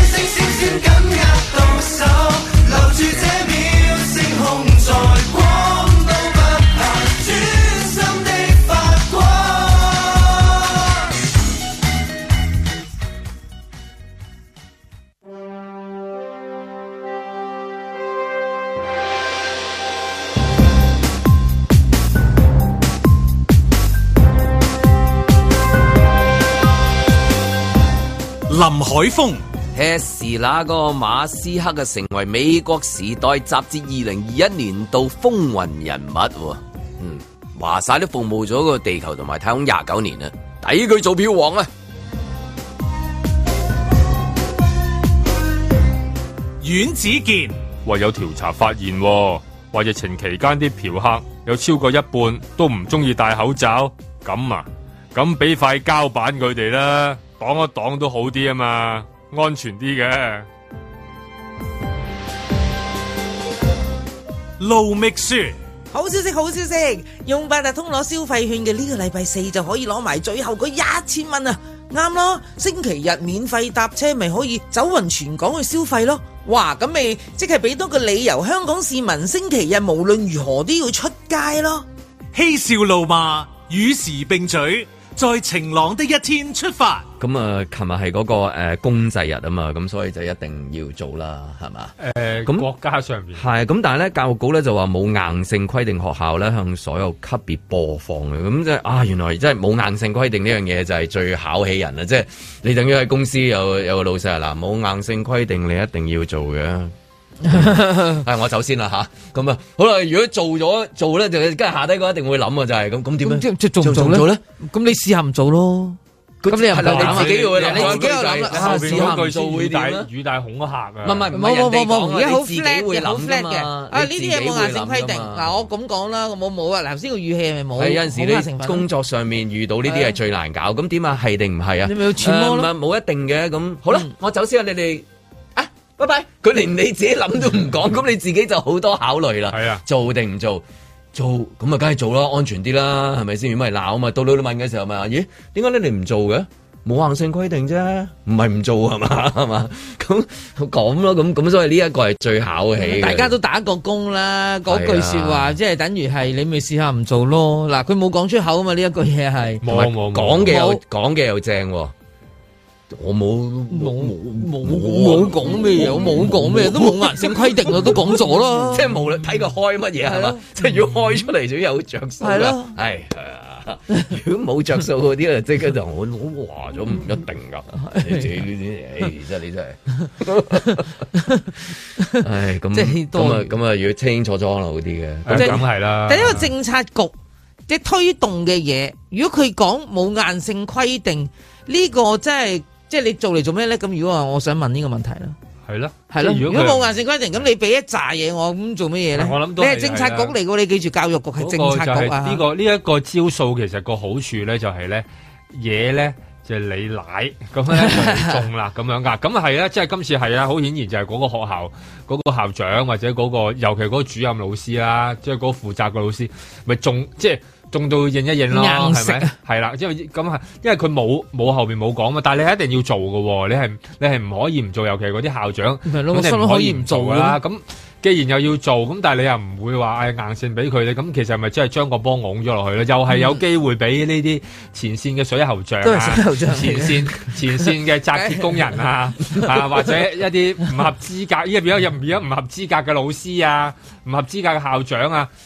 林海峰 Tesla 嗰個馬斯克嘅成為美國時代雜誌二零二一年度風雲人物，嗯，話晒都服務咗個地球同埋太空廿九年啦，抵佢做票王啊！ 阮子健話有調查發現，話疫情期間啲嫖客有超過一半都唔中意戴口罩，咁啊，咁俾塊膠板佢哋啦。擋一擋都好啲啊嘛，安全啲嘅。 盧覓雪， 好消息，好消息！用八達通攞消費券嘅呢個禮拜四就可以攞埋最後嗰一千蚊啊！啱咯，星期日免費搭車咪可以走勻全港去消費咯。哇，咁咪即係俾多個理由，香港市民星期日無論如何都要出街咯。 嬉笑怒罵，與時並舉。在晴朗的一天出發。 咁啊，琴日係嗰個誒公祭日啊嘛，咁所以就一定要做啦，係嘛？ 誒、呃，咁國家上邊係咁，但係咧教育局咧就話冇硬性規定學校咧向所有級別播放嘅，咁即係啊，原來真係冇硬性規定呢樣嘢就係最考起人啦，即係你等於喺公司有有個老細嗱，冇硬性規定你一定要做嘅。係我走先啦吓，咁啊好啦，如果做咗做咧，就跟住下低嗰一定會諗啊，就係咁，咁點樣？ 即係做唔做咧？咁你試下唔做咯。咁你又係你自己會諗，你自己又諗啦。 後邊嗰句數會點咧？語帶恐嚇啊！ 唔係唔係冇冇冇冇， 而家好 flat 嘅，好 flat 嘅。啊呢啲嘢冇硬性規定。嗱我咁講啦，我冇冇啊。頭先個語氣係咪冇？ 係有陣時你工作上面遇到呢啲係最難搞。咁點啊？係定唔係啊？ 你咪要揣摩咯。 冇一定嘅。咁好啦，我走先啊！你哋。拜拜！佢連你自己諗都唔講，咁你自己就好多考慮啦。係啊，做定唔做？做咁啊，梗係做啦，安全啲啦，係咪先？如果唔係鬧啊嘛，到你問嘅時候咪話，咦？點解你哋唔做嘅？冇硬性規定啫，唔係唔做係嘛？係嘛？咁講咯，咁咁所以呢一個係最考起。 大家都打過工啦，嗰句說話即係等於係你咪試下唔做咯。嗱，佢冇講出口啊嘛，呢一句嘢係冇冇講嘅又講嘅又正。我冇冇冇冇講咩嘢，我冇講咩，都冇硬性規定啦，都講咗啦。 即係無論睇佢開乜嘢係嘛，即係如果開出嚟就有着數啦。係咯，係啊。如果冇着數嗰啲啊，即刻就我我話咗唔一定噶。你自己呢啲，唉，真係你真係。唉，咁咁啊咁啊，要清清楚楚可能好啲嘅。 咁係啦。 第一個政策局即係推動嘅嘢，如果佢講冇硬性規定，呢個真係。即係你做嚟做咩咧？咁如果話我想問呢個問題啦， 係咯， 係咯。如果冇硬性規定，咁你俾一紮嘢我，咁做乜嘢咧？ 我諗你係政策局嚟㗎，你記住教育局係政策局啊。 呢、這個呢一、這個招數其實個好處咧就係咧嘢咧就係、是、你奶咁咧就中啦咁樣噶。咁啊係啊，即係今次係啊，好顯然就係嗰個學校嗰、那個校長或者嗰、那個尤其嗰個主任老師啦，即係嗰個負責個老師咪中即係。中到認一認咯，係咪？係啦，因為咁係，因為佢冇冇後面冇講嘛，但係你係一定要做嘅，你係你係唔可以唔做，尤其嗰啲校長，咁你唔可以唔做啦。咁既然又要做，咁但係你又唔會話誒硬性俾佢咧，咁其實係咪真係將個波拱咗落去咧？又係有機會俾呢啲前線嘅水喉匠啊，前線前線嘅紮鐵工人啊，啊或者一啲唔合資格，依家變咗又唔變咗唔合資格嘅老師啊，唔合資格嘅校長啊。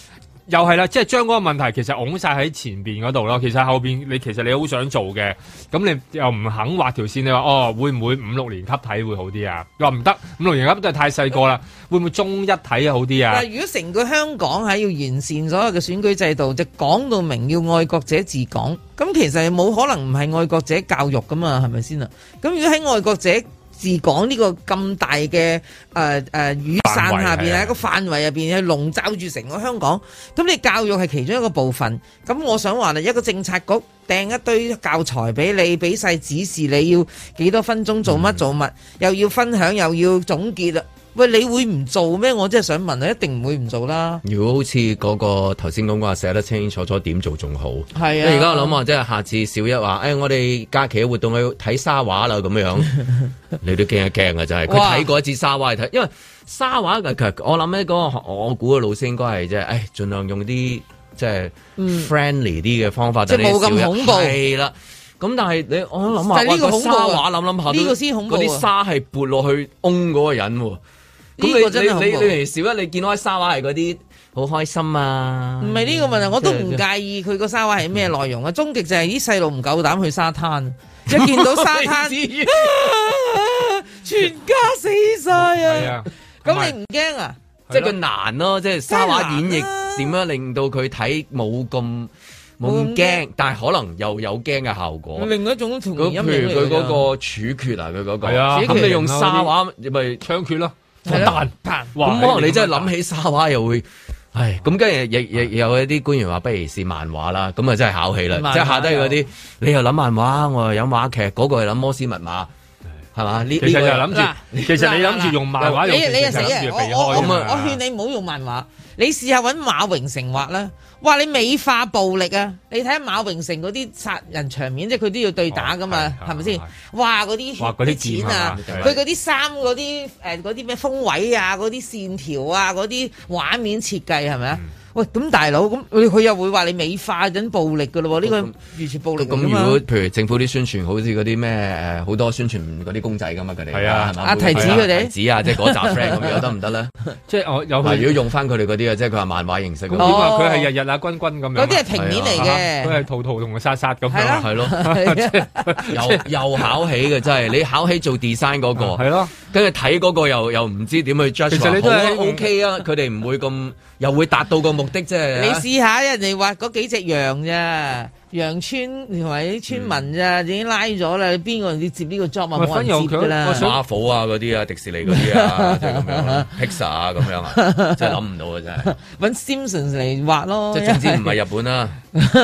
又係啦，即係將嗰個問題其實拱晒喺前邊嗰度咯。其實後邊你其實你好想做嘅，咁你又唔肯畫條線，你話哦會唔會五六年級睇會好啲啊？話唔得，五六年級都係太細個啦，會唔會中一睇好啲啊？ 但係如果成個香港係要完善所有嘅選舉制度，就講到明要愛國者治港，咁其實冇可能唔係愛國者教育噶嘛，係咪先啊？咁如果喺愛國者治港呢個咁大嘅誒誒雨傘下邊喺個範圍入邊去籠罩住成個香港，咁你教育係其中一個部分。咁我想話啦，一個政策局掟一堆教材俾你，俾晒指示你要幾多分鐘做乜做乜，嗯、又要分享又要總結啦。喂，你會唔做咩？我真係想問啊，一定唔會唔做啦。 如果好似嗰個頭先講話寫得清清楚楚點做仲好。 係啊。 而家我諗話，即係下次小一話，誒、哎，我哋假期嘅活動去睇沙畫啦，咁樣，你都驚一驚啊！真係，佢睇過一次沙畫嚟睇，因為沙畫其實我諗咧，嗰個我估嘅老師應該係即係，誒，盡量用啲即係 friendly 啲嘅方法， 即係冇咁恐怖。 係啦。咁但係你我諗下， 呢個沙畫諗諗下， 呢個先恐怖。 嗰啲沙係撥落去嗡嗰個人喎。咁你你你你嚟小一，你見到啲沙畫係嗰啲好開心啊？唔係呢個問題，我都唔介意佢個沙畫係咩內容啊。終極就係啲細路唔夠膽去沙灘，一見到沙灘，全家死晒啊！咁你唔驚啊？ 即係佢難咯，即係沙畫演繹點樣令到佢睇冇咁冇咁驚，但係可能又有驚嘅效果。 另一種童年陰影嚟㗎。 譬如佢嗰個處決啊，佢嗰個，咁你用沙畫咪槍決咯。 彈彈，咁可能你真係諗起沙畫又會，唉，咁跟住亦亦有一啲官員話，不如試漫畫啦，咁啊真係考起啦，即係下低嗰啲，你又諗漫畫，我又有話劇，嗰個又諗摩斯密碼，係嘛？呢其實就諗住，其實你諗住用漫畫， 你你又死啊！我我我我勸你唔好用漫畫，你試下搵馬榮成畫啦。哇！你美化暴力啊！你睇下馬榮成嗰啲殺人場面，即係佢都要對打噶嘛，係咪先？哇！嗰啲啲錢啊，佢嗰啲衫嗰啲誒嗰啲咩風位啊，嗰啲線條啊，嗰啲畫面設計係咪啊？喂，咁大佬，咁佢又會話你美化緊暴力噶咯？呢、這個完全暴力咁。咁如果譬如政府啲宣傳，好似嗰啲咩誒好多宣傳嗰啲公仔噶嘛，佢哋係啊，係嘛？ 阿提子佢哋提子啊，即係嗰集 friend 咁樣得唔得咧？ 即係我有。如果用翻佢哋嗰啲啊，即係佢話漫畫形式。 咁點啊？佢係日日啊，君君咁樣。 嗰啲係平面嚟嘅。 佢係圖圖同佢殺殺咁樣。 係咯。又又考起嘅真係，你考起做 design 嗰個。係咯。跟住睇嗰個又又唔知點去 judge。其實你都係 OK 啊，佢哋唔會咁，又會達到個目的即係。 試下人哋畫嗰幾隻羊咋，羊村同埋啲村民咋，已經拉咗啦。邊個要接呢個 job 啊？冇人接㗎啦。 Marvel啊嗰啲啊，迪士尼嗰啲啊，即係咁樣啦。Pixar 啊咁樣啊，真係諗唔到啊真係。 揾 Simpsons 嚟畫咯。 即係總之唔係日本啦。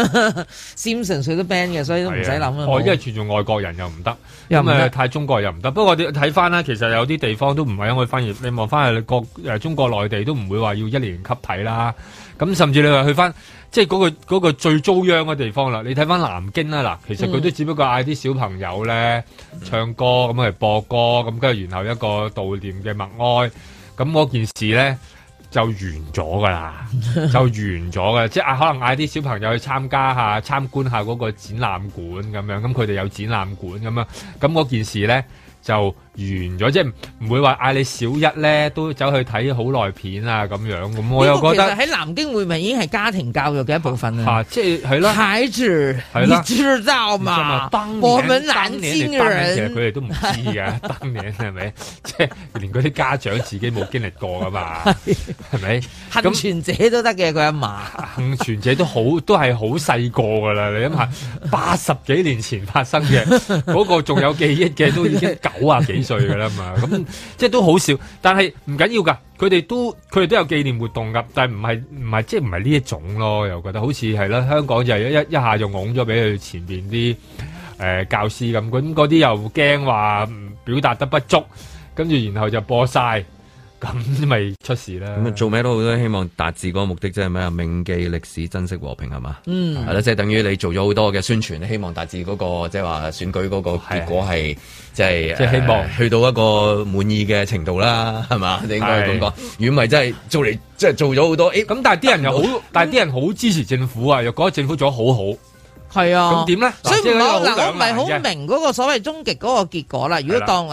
Simpsons 佢都 ban 嘅，所以都唔使諗啦。 哦，因為傳做外國人又唔得，因為太中國又唔得。不過我哋睇翻啦，其實有啲地方都唔係因為翻譯。你望翻去國誒中國內地都唔會話要一年級睇啦。咁甚至你話去翻即係嗰個嗰個最遭殃嘅地方啦，你睇翻南京啦，嗱，其實佢都只不過嗌啲小朋友咧唱歌咁嚟播歌，咁跟住然後一個悼念嘅默哀，咁嗰件事咧就完咗噶啦，就完咗嘅，即係啊可能嗌啲小朋友去參加下參觀下嗰個展覽館咁樣，咁佢哋有展覽館咁樣，咁嗰件事咧就完咗，即係唔會話嗌你小一咧都走去睇好耐片啊咁樣，咁我又覺得其實喺南京會唔會已經係家庭教育嘅一部分啊？ 啊即係係啦， 孩子，你知道嘛？我們南京人其實佢哋都唔知噶，當年係咪？即係連嗰啲家長自己冇經歷過噶嘛？係咪？ 幸存者都得嘅，佢阿嫲幸存者都好，都係好細個噶啦。你諗下，八十幾年前發生嘅嗰個仲有記憶嘅，都已經九啊幾歲噶啦嘛。咁即係都好笑，但係唔緊要噶。佢哋都佢哋都有紀念活動噶，但係唔係唔係即係唔係呢一種咯。又覺得好似係啦，香港就係一一一下就拱咗俾佢前邊啲誒教師咁，咁嗰啲又驚話表達得不足，跟住然後就播晒。咁咪出事啦！ 咁做咩都好，都希望達至嗰個目的，即係咩啊？銘記歷史，珍惜和平，係嘛？ 嗯， 係啦，即係等於你做咗好多嘅宣傳，你希望達至嗰個即係話選舉嗰個結果係即係即係希望去到一個滿意嘅程度啦，係嘛？你應該咁講。如果唔係真係做嚟，即係做咗好多，誒咁，但係啲人又好，但係啲人好支持政府啊，又覺得政府做得好好。 係啊， 咁點咧？ 所以唔好嗱，我唔係好明嗰個所謂終極嗰個結果啦。如果當啊。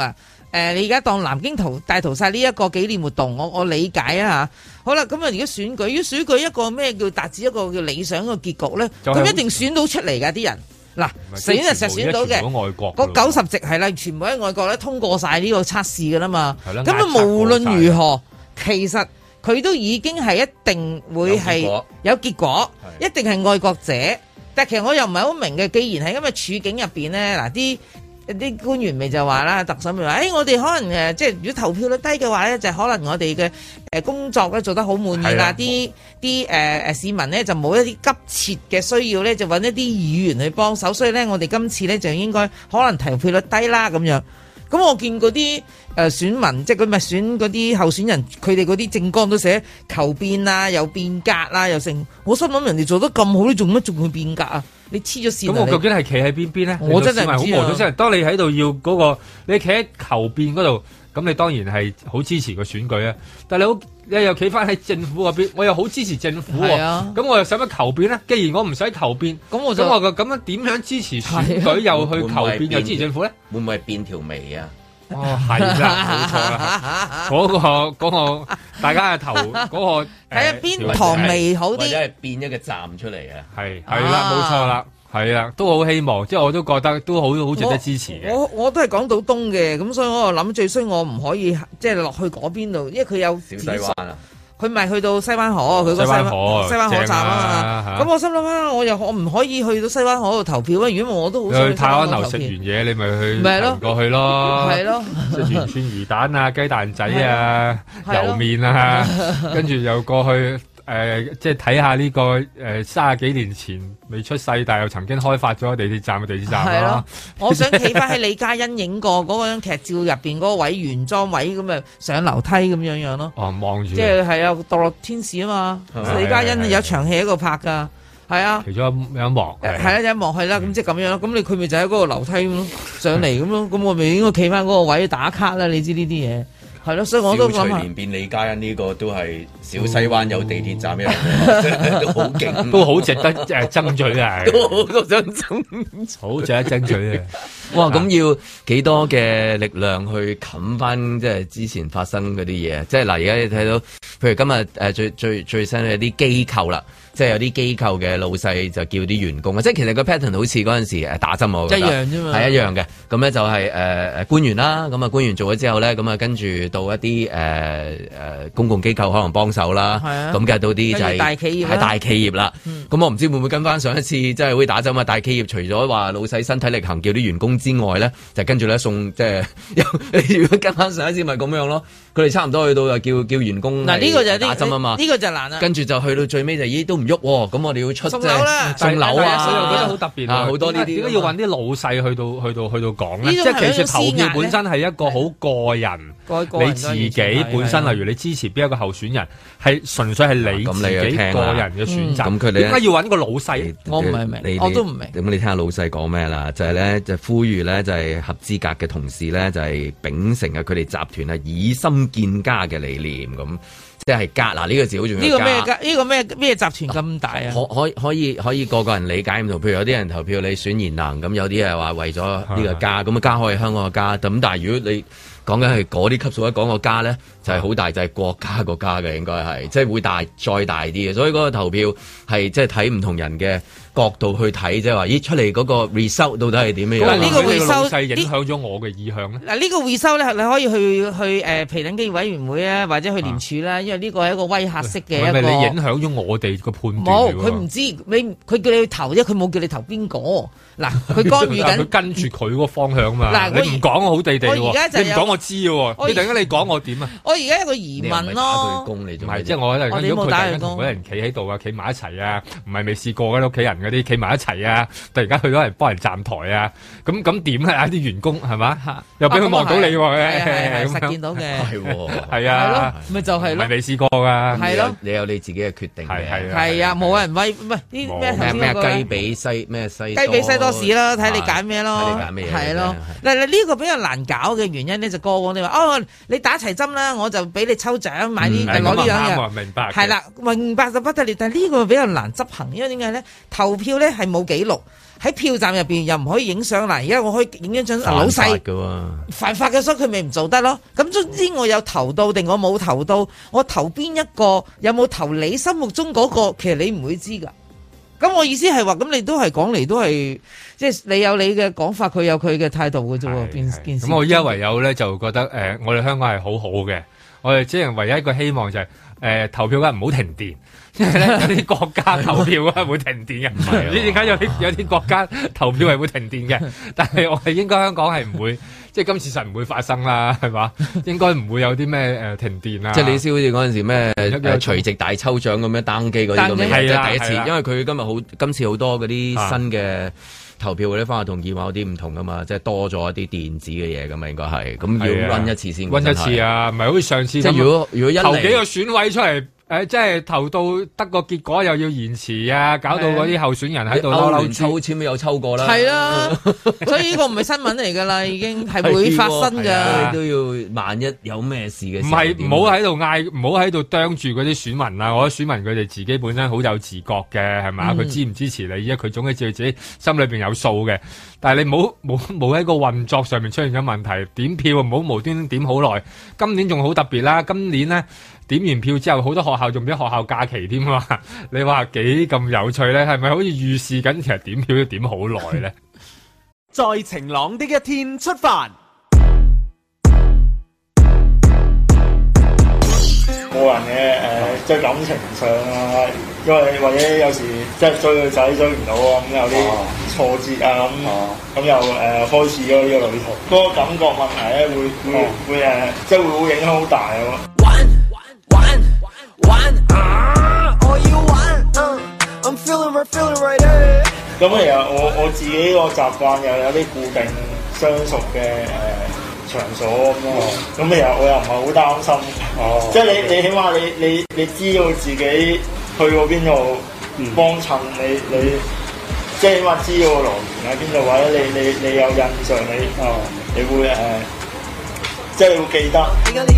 呃，你而家當南京屠大屠殺呢一個紀念活動，我我理解啊嚇。好啦，咁啊，如果選舉，如果選舉一個咩叫達至一個叫理想嘅結局咧，咁、就是、一定選到出嚟㗎啲人。嗱，選就實選到嘅，嗰九十席係啦，全部喺外國咧通過晒呢個測試㗎啦嘛。咁啊，無論如何，其實佢都已經係一定會係有結果，一定係愛國者。但其實我又唔係好明嘅，既然係咁嘅處境入邊咧，嗱啲。啲官員咪就話啦，特首咪話，誒、哎、我哋可能誒，即係如果投票率低嘅話咧，就可能我哋嘅誒工作咧做得好滿意啦，啲啲誒誒市民咧就冇一啲急切嘅需要咧，就揾一啲議員去幫手，所以咧我哋今次咧就應該可能投票率低啦咁樣。咁我見嗰啲誒選民，即係佢咪選嗰啲候選人，佢哋嗰啲政綱都寫求變啊，又變革啊，又成。我心諗人哋做得咁好，你做乜仲去變革啊？你黐咗線。咁我究竟係企喺邊邊咧？我真係唔知啊。好無所謂。當你喺度要嗰、嗰個，你企喺求變嗰度，咁你當然係好支持個選舉啊。但係你好，你又企翻喺政府嗰邊，我又好支持政府喎。啊。咁我又使乜求變咧？既然我唔使求變，咁我就咁我咁樣點樣支持選舉又去求變又支持政府咧？會唔會係變條眉啊？哦，係啦，冇錯啦，嗰、嗰個嗰、嗰個大家嘅頭嗰、嗰個睇下邊堂眉好啲，或者係變一個站出嚟啊！係係啦，冇錯啦，係啦，都好希望，即係我都覺得都好好值得支持嘅。我我，我都係港島東嘅，咁所以我就諗最衰我唔可以即係落去嗰邊度，因為佢有小西灣啊。佢咪去到西灣河，佢個西灣河西灣河站啊嘛。咁、啊、我心諗啊，我又我唔可以去到西灣河度投票啊。如果我都好想去泰安樓食完嘢，你咪去行過去咯。係咯，食完串魚蛋啊、雞蛋仔啊、油麵啊，跟住又過去。誒、呃，即係睇下呢、這個誒，三十幾年前未出世，但係又曾經開發咗地鐵站嘅地鐵站啦。係咯，我想企翻喺李嘉欣影過嗰張劇照入邊嗰個位原裝位咁啊，上樓梯咁樣樣咯。哦，望住。即係係啊，墮落天使啊嘛，李嘉欣有場戲喺度拍噶，係啊。其中有一幕。係啦，有一幕係啦，咁、嗯、即係咁樣咯。咁你佢咪就喺嗰個樓梯咁咯，上嚟咁咯。咁我咪應該企翻嗰個位打卡啦。你知呢啲嘢。係咯，所以我都諗下。小徐連變李嘉欣呢個都係小西灣有地鐵站一樣，都好勁，都好值得誒爭取啊！都好想爭，好值得爭取啊！哇，咁要幾多嘅力量去冚翻即係之前發生嗰啲嘢？即係嗱，而家你睇到，譬如今日誒最最最新嘅啲機構啦。即係有啲機構嘅老細就叫啲員工啊，即係其實個 pattern 好似嗰陣時誒打針我覺得一樣啫嘛，係一樣嘅。咁咧就係誒誒官員啦，咁啊官員做咗之後咧，咁啊跟住到一啲誒誒公共機構可能幫手啦，咁嘅到啲就係大企業係大企業啦。咁、嗯、我唔知會唔會跟翻上一次即係會打針啊？大企業除咗話老細身體力行叫啲員工之外咧，就跟住咧送即係如果跟翻上一次咪咁樣咯。佢哋差唔多去到就叫叫員工嗱呢個就打針啊嘛，呢、這個就難啦。跟住就去到最尾就咦都唔喐喎，咁我哋要出送樓啦，送樓啊，所以我覺得好特別啊，好多呢啲點解要揾啲老細去到去到去到講咧？即係其實投票本身係一個好個人，個人你自己本身，例如你支持邊一個候選人，係純粹係你自己個人嘅選擇。咁佢哋點解要揾個老細？我唔係明，我都唔明。咁你聽下老細講咩啦？就係、是、咧，就呼籲咧，就係、是、合資格嘅同事咧，就係、是、秉承啊佢哋集團啊以心建家嘅理念咁。即係家嗱呢個字好重要。呢個咩家？呢個咩咩集團咁大啊？可可可以可以個個人理解唔同。譬如有啲人投票你選賢能，咁有啲係話為咗呢個家，咁啊家可以香港嘅家。咁但係如果你講緊係嗰啲級數一講個家咧，就係、是、好大，就係、是、國家個家嘅應該係，即係會大再大啲嘅。所以嗰個投票係即係睇唔同人嘅角度去睇，即係話咦出嚟嗰個 result 到底係點樣？嗱呢個 result 係影響咗我嘅意向咧。嗱呢個 result 咧，你可以去去誒評等機委員會啊，或者去廉署啦，因為呢個係一個威嚇式嘅一個。係咪你影響咗我哋個判斷？冇，佢唔知你，佢叫你去投啫，佢冇叫你投邊個。嗱，佢干預緊。佢跟住佢嗰個方向嘛。嗱，你唔講我好地地喎，你唔講我知喎。你突然間你講我點啊？我而家有個疑問咯。唔係，即係我咧，如果佢突然間同嗰人企喺度啊，企埋一齊啊，唔係未試過嘅屋企人嗰啲企埋一齊啊，突然間去咗人幫人站台啊，咁咁點咧？啲員工係嘛？又俾佢望到你喎，係實見到嘅，係喎，係啊，咪就係咯，唔係未試過㗎，係咯，你有你自己嘅決定，係係係啊，冇人威，唔係啲咩咩雞髀西咩西雞髀西多士啦，睇你揀咩咯，睇你揀咩嘢，係咯，嗱嗱呢個比較難搞嘅原因咧，就過往你話哦，你打齊針啦，我就俾你抽獎買啲攞呢樣嘢。 明白。 係啦，明白就不得了，但係呢個比較難執行，因為點解咧？投票咧係冇記錄。喺票站入邊又唔可以影相啦，而家我可以影一張老細犯法嘅，所以佢咪唔做得咯。咁總之我有投到定我冇投到，我投邊一個有冇投你心目中嗰個，其實你唔會知噶。咁我意思係話，咁你都係講嚟都係，即係你有你嘅講法，佢有佢嘅態度嘅啫喎。件件事。咁我依家唯有咧就覺得誒、呃，我哋香港係好好嘅，我哋只係唯一一個希望就係、是、誒、呃、投票嘅唔好停電。因為咧有啲國家投票係會停電嘅，唔知點解有啲有啲國家投票係會停電嘅，但係我係應該香港係唔會，即係今次實唔會發生啦，係嘛？應該唔會有啲咩誒停電啊！ 即係你先好似嗰陣時咩誒隨機大抽獎咁樣登記嗰啲咁樣，即係第一次，因為佢今日好今次好多嗰啲新嘅投票嗰啲方法同以往有啲唔同噶嘛，即係多咗一啲電子嘅嘢噶嘛，應該係咁要溫一次先溫一次啊，唔係好似上次即係如果如果一投幾個選委出嚟。誒、呃，即係投到得個結果又要延遲啊，搞到嗰啲候選人喺度嬲嬲抽籤都有抽過啦。 係啦，所以呢個唔係新聞嚟噶啦，已經係會發生噶。 都要萬一有咩事嘅時候， 唔係唔好喺度嗌，唔好喺度啄住嗰啲選民啊！我覺得選民佢哋自己本身好有自覺嘅，係嘛？佢、嗯、支唔支持你，因為佢總係知道自己心裏邊有數嘅。但係你冇冇冇喺個運作上面出現咗問題，點票唔好無端端點好耐。今年仲好特別啦，今年咧。點完票之後，好多學校仲俾學校假期添嘛？你話幾咁有趣咧？係咪好似預示緊其實點票都點好耐咧？ 在晴朗的一天出發。 個人嘅誒，即係感情上啊，因為或者有時即係追個仔追唔到啊，咁有啲挫折啊，咁咁又誒開始咗呢個旅途，嗰個感覺問題咧會會會誒，即係會會影響好大啊！啊！我要玩，嗯、uh, ，I'm feeling right, feeling right。咁其實我我自己個習慣又有啲固定相熟嘅誒、呃、場所咁咯。咁、嗯、其實我又唔係好擔心，哦、即係你你起碼你你你知道自己去過邊度幫襯，你你即係起碼知道個來源喺邊度，或者你你你有印象，你哦你會誒。呃即係你會記得，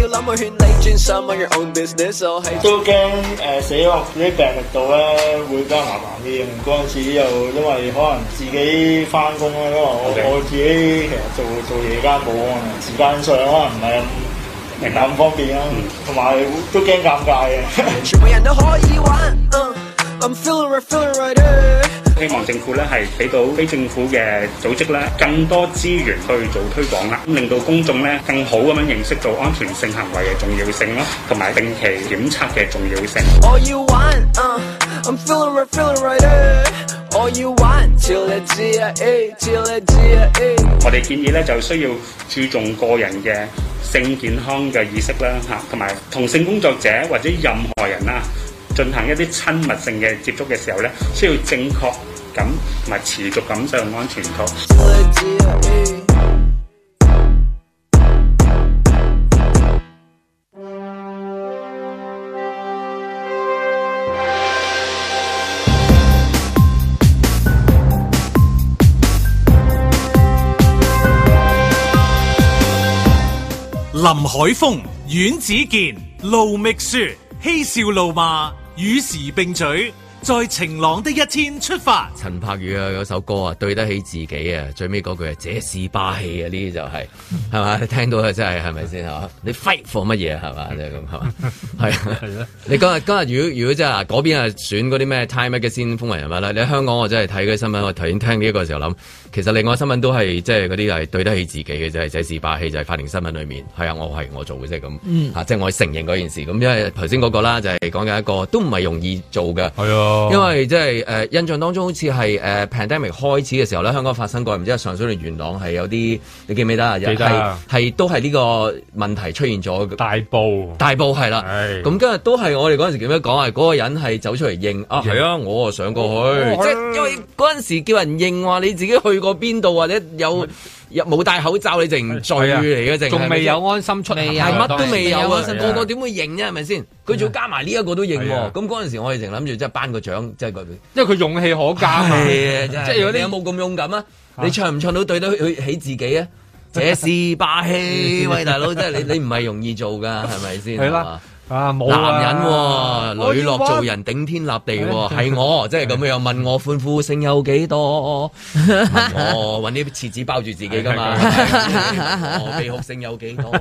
都驚誒死落啲病歷度咧會比較麻煩啲。嗰陣時又因為可能自己翻工啦，因為我 Okay. 我自己其實做做夜間保安，時間上可能唔係咁明咁方便啦，同埋、嗯、都驚尷尬嘅。全部人都可以玩。Uh, I'm feeling right, feeling right. 希望政府咧係俾到非政府嘅組織咧更多資源去做推廣啦，令到公眾咧更好咁樣認識到安全性行為嘅重要性咯，同埋定期檢測嘅重要性。我要玩，uh, I'm feeling right, feeling right. 我要玩，照你知啊，照你知啊。我哋建議咧就需要注重個人嘅性健康嘅意識啦，嚇，同埋同性工作者或者任何人啦進行一啲親密性嘅接觸嘅時候咧，需要正確咁同埋持續咁上安全套。 林海峰、阮子健、盧覓雪，嬉笑怒罵，與時並舉。在晴朗的一天出發。 陳柏宇啊，有首歌啊，對得起自己啊，最尾嗰句係這是霸氣啊，呢啲就係係嘛，你聽到啊，真係係咪先嚇？你 fight for 乜嘢係嘛？即係咁係嘛？係啊係啊！你今日今日如果如果真係嗱嗰邊啊選嗰啲咩 Time Magazine 風雲人物啦，你喺香港我真係睇嗰啲新聞，我頭先聽呢一個時候諗，其實另外新聞都係即係嗰啲係對得起自己嘅，就係這是霸氣，就係法庭新聞裏面係啊，我係我做嘅啫咁嚇，即係我承認嗰件事咁，因為頭先嗰個啦就係講緊一個都唔係容易做嘅，係啊。因為即係誒印象當中好似係誒 pandemic 開始嘅時候咧，香港發生過唔知係上水定元朗係有啲，你記唔記得啊？記得係都係呢個問題出現咗。大埔大埔係啦，咁今日都係我哋嗰陣時點樣講啊？嗰個人係走出嚟認啊，係啊，我啊上過去，即係因為嗰陣時叫人認話你自己去過邊度或者有。冇戴口罩你淨唔罪嚟嘅，淨仲未有安心出行，係乜都未有啊！個個點會認啫？係咪先？佢仲要加埋呢一個都認喎。咁嗰陣時我哋淨諗住即係頒個獎，即係佢，因為佢勇氣可嘉啊！即係如果你有冇咁勇敢啊？你唱唔唱到對得起自己啊？ 這是霸氣，喂大佬，即係你你唔係容易做噶，係咪先？ 係啦。啊冇啊男人喎，磊落做人，頂天立地喎，係我即係咁樣問我歡呼聲有幾多？問我揾啲廁紙包住自己㗎嘛？我悲哭聲有幾多？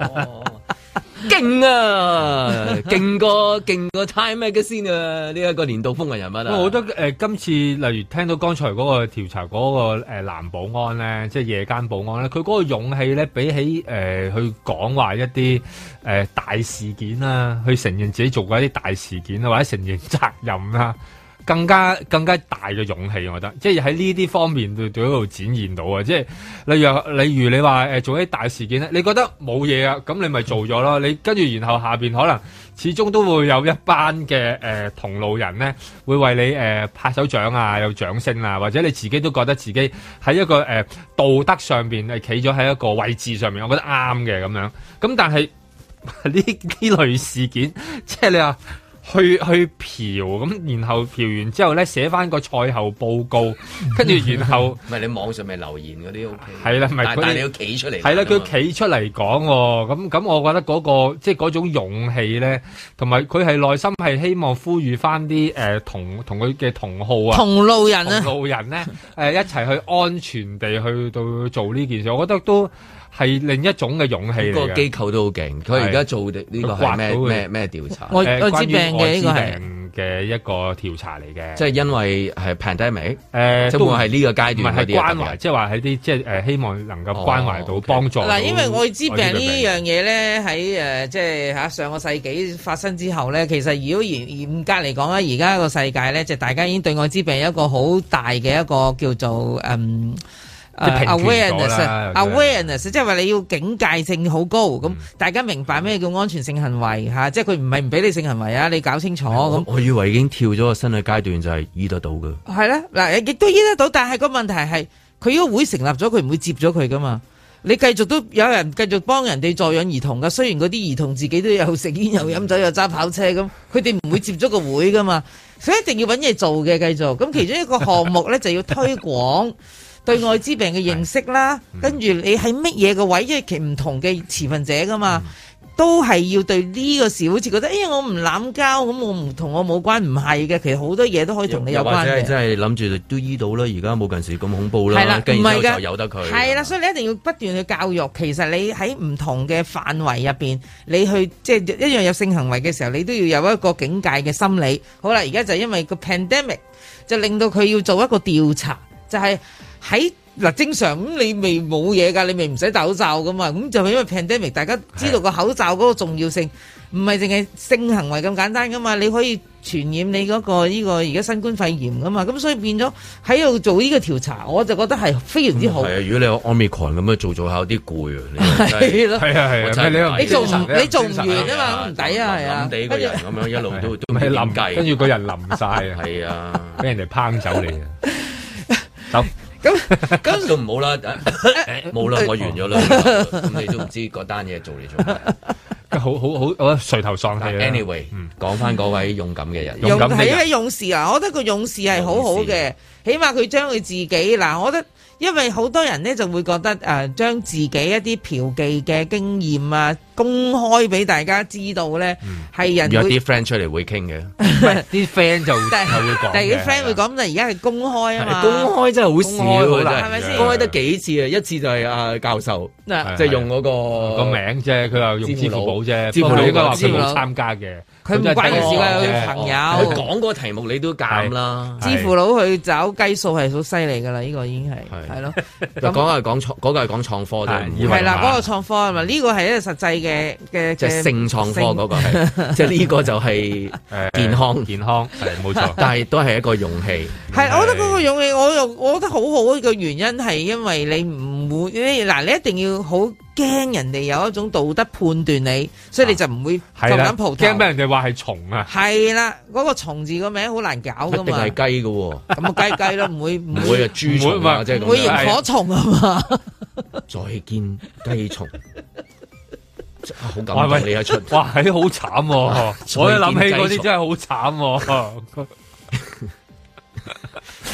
勁啊！勁過勁過 Time Magazine 啊！呢一個年度風雲人物啊！ 我覺得誒、呃，今次例如聽到剛才嗰個調查嗰、那個誒、呃、男保安咧，即係夜間保安咧，佢嗰個勇氣咧，比起誒、呃、去講話一啲誒、呃、大事件啊，去承認自己做過一啲大事件啊，或者承認責任啊。更加更加大嘅勇氣，我覺得，即係喺呢啲方面對對嗰度展現到啊！即係例如例如你話誒做一啲大事件咧，你覺得冇嘢啊，咁你咪做咗咯。你跟住然後下邊可能始終都會有一班嘅誒、呃、同路人咧，會為你誒、呃、拍手掌啊，有掌聲啊，或者你自己都覺得自己喺一個誒、呃、道德上邊係企咗喺一個位置上面，我覺得啱嘅咁樣。咁但係呢呢類事件，即係你話。去去嫖咁，然後嫖完之後咧寫翻個賽後報告，跟住然後唔係你網上咪留言嗰啲 O K 係啦，唔係但係你要企出嚟係啦，佢企出嚟講喎，咁咁我覺得嗰個即係嗰種勇氣咧，同埋佢係內心係希望呼籲翻啲誒同同佢嘅同好啊， 同路人啊， 同路人咧誒一齊去安全地去到做呢件事，我覺得都係另一種嘅勇氣嚟嘅。 個機構都好勁，佢而家做呢個係咩咩咩調查？ 愛愛滋病嘅呢個係嘅一個調查嚟嘅， 即係因為係 pandemic， 誒即係會係呢個階段唔係關懷，即係話喺啲即係誒希望能夠關懷到幫助。 嗱，因為愛滋病呢樣嘢咧喺誒即係嚇上個世紀發生之後咧，其實如果嚴嚴格嚟講咧，而家個世界咧就大家已經對愛滋病有一個好大嘅一個叫做嗯。Uh, awareness，awareness， 即係話你要警戒性好高，咁、嗯、大家明白咩叫安全性行為吓、啊，即係佢唔係唔俾你性行為啊，你搞清楚咁。我， 我以為已經跳咗個新嘅階段，就係醫得到嘅。 係啦，嗱，亦都醫得到，但係個問題係佢呢個會成立咗，佢唔會接咗佢噶嘛。你繼續都有人繼續幫人哋助養兒童噶，雖然嗰啲兒童自己都有食煙又飲酒又揸跑車咁，佢哋唔會接咗個會噶嘛，所以一定要搵嘢做嘅繼續。咁其中一個項目咧就要推廣。對愛滋病嘅認識啦，跟住你喺乜嘢個位，因為其唔同嘅持份者噶嘛，嗯、都係要對呢個事好似覺得，哎呀我唔濫交，咁我唔同我冇關，唔係嘅，其實好多嘢都可以同你有關嘅。或者真係諗住都醫到啦，而家冇近時咁恐怖啦，跟住之後就由得佢。係啦， 所以你一定要不斷去教育。其實你喺唔同嘅範圍入邊，你去即係一樣有性行為嘅時候，你都要有一個警戒嘅心理。好啦，而家就因為個 pandemic 就令到佢要做一個調查，就係、是。喺嗱正常咁你未冇嘢㗎，你咪唔使戴口罩㗎嘛，咁就係因為 pandemic， 大家知道個口罩嗰個重要性，唔係淨係性行為咁簡單㗎嘛，你可以傳染你嗰個呢個而家新冠肺炎㗎嘛，咁所以變咗喺度做呢個調查，我就覺得係非常之好。係、嗯、啊，如果你有 Omicron 咁樣做做下有啲攰啊，係咯，係啊係啊，你做唔你做唔完啊嘛，唔抵啊係啊，冧地個人咁樣一路都都未冧計， 跟住個人冧晒啊， 係啊， 俾人哋抨走你啊，走。 咁咁都唔好啦，冇啦，我完咗啦，咁你都唔知嗰單嘢做嚟做咩， 好好好，我垂頭喪氣。 Anyway，講翻嗰位勇敢嘅人， 勇敢係一勇士啊！我覺得個勇士係好好嘅，起碼佢將佢自己嗱，我覺得。因為好多人咧就會覺得誒，將、呃、自己一啲嫖妓嘅經驗啊，公開俾大家知道咧，係、嗯、人有啲 friend 出嚟會傾嘅， 啲 friend 就係會講， 但係啲 friend 會講，但係而家係公開啊嘛， 公開真係好少， 係咪先？ 公開得幾次啊？一次就係阿教授，即係、就是、用嗰、那個個名啫，佢又用支付寶啫， 支付寶應該話佢冇參加嘅。 佢唔關佢事㗎，佢朋友。 佢講嗰個題目你都揀啦。 支付佬去找計數係好犀利㗎啦，呢、這個已經係係咯。 講係講創，嗰個係講創科啫。 係啦，嗰個創科啊嘛，呢個係一個實際嘅嘅。 即係性創科嗰個係，即係呢個就係健康健康係冇錯， 但係都係一個勇氣。 係，我覺得嗰個勇氣，我又我覺得好好嘅原因係因為你唔會嗱，你一定要好。驚人哋有一種道德判斷你，所以你就唔會咁樣蒲頭。 驚俾人哋話係蟲啊！係啦，嗰、那個蟲字個名好難搞噶嘛。 一定係雞噶喎， 咁啊雞雞咯，唔會唔會啊豬蟲啊，即係咁。 唔會螢火蟲啊嘛。 再見雞蟲，好感動你一出。 哇，係好慘！我一諗起嗰啲真係好慘。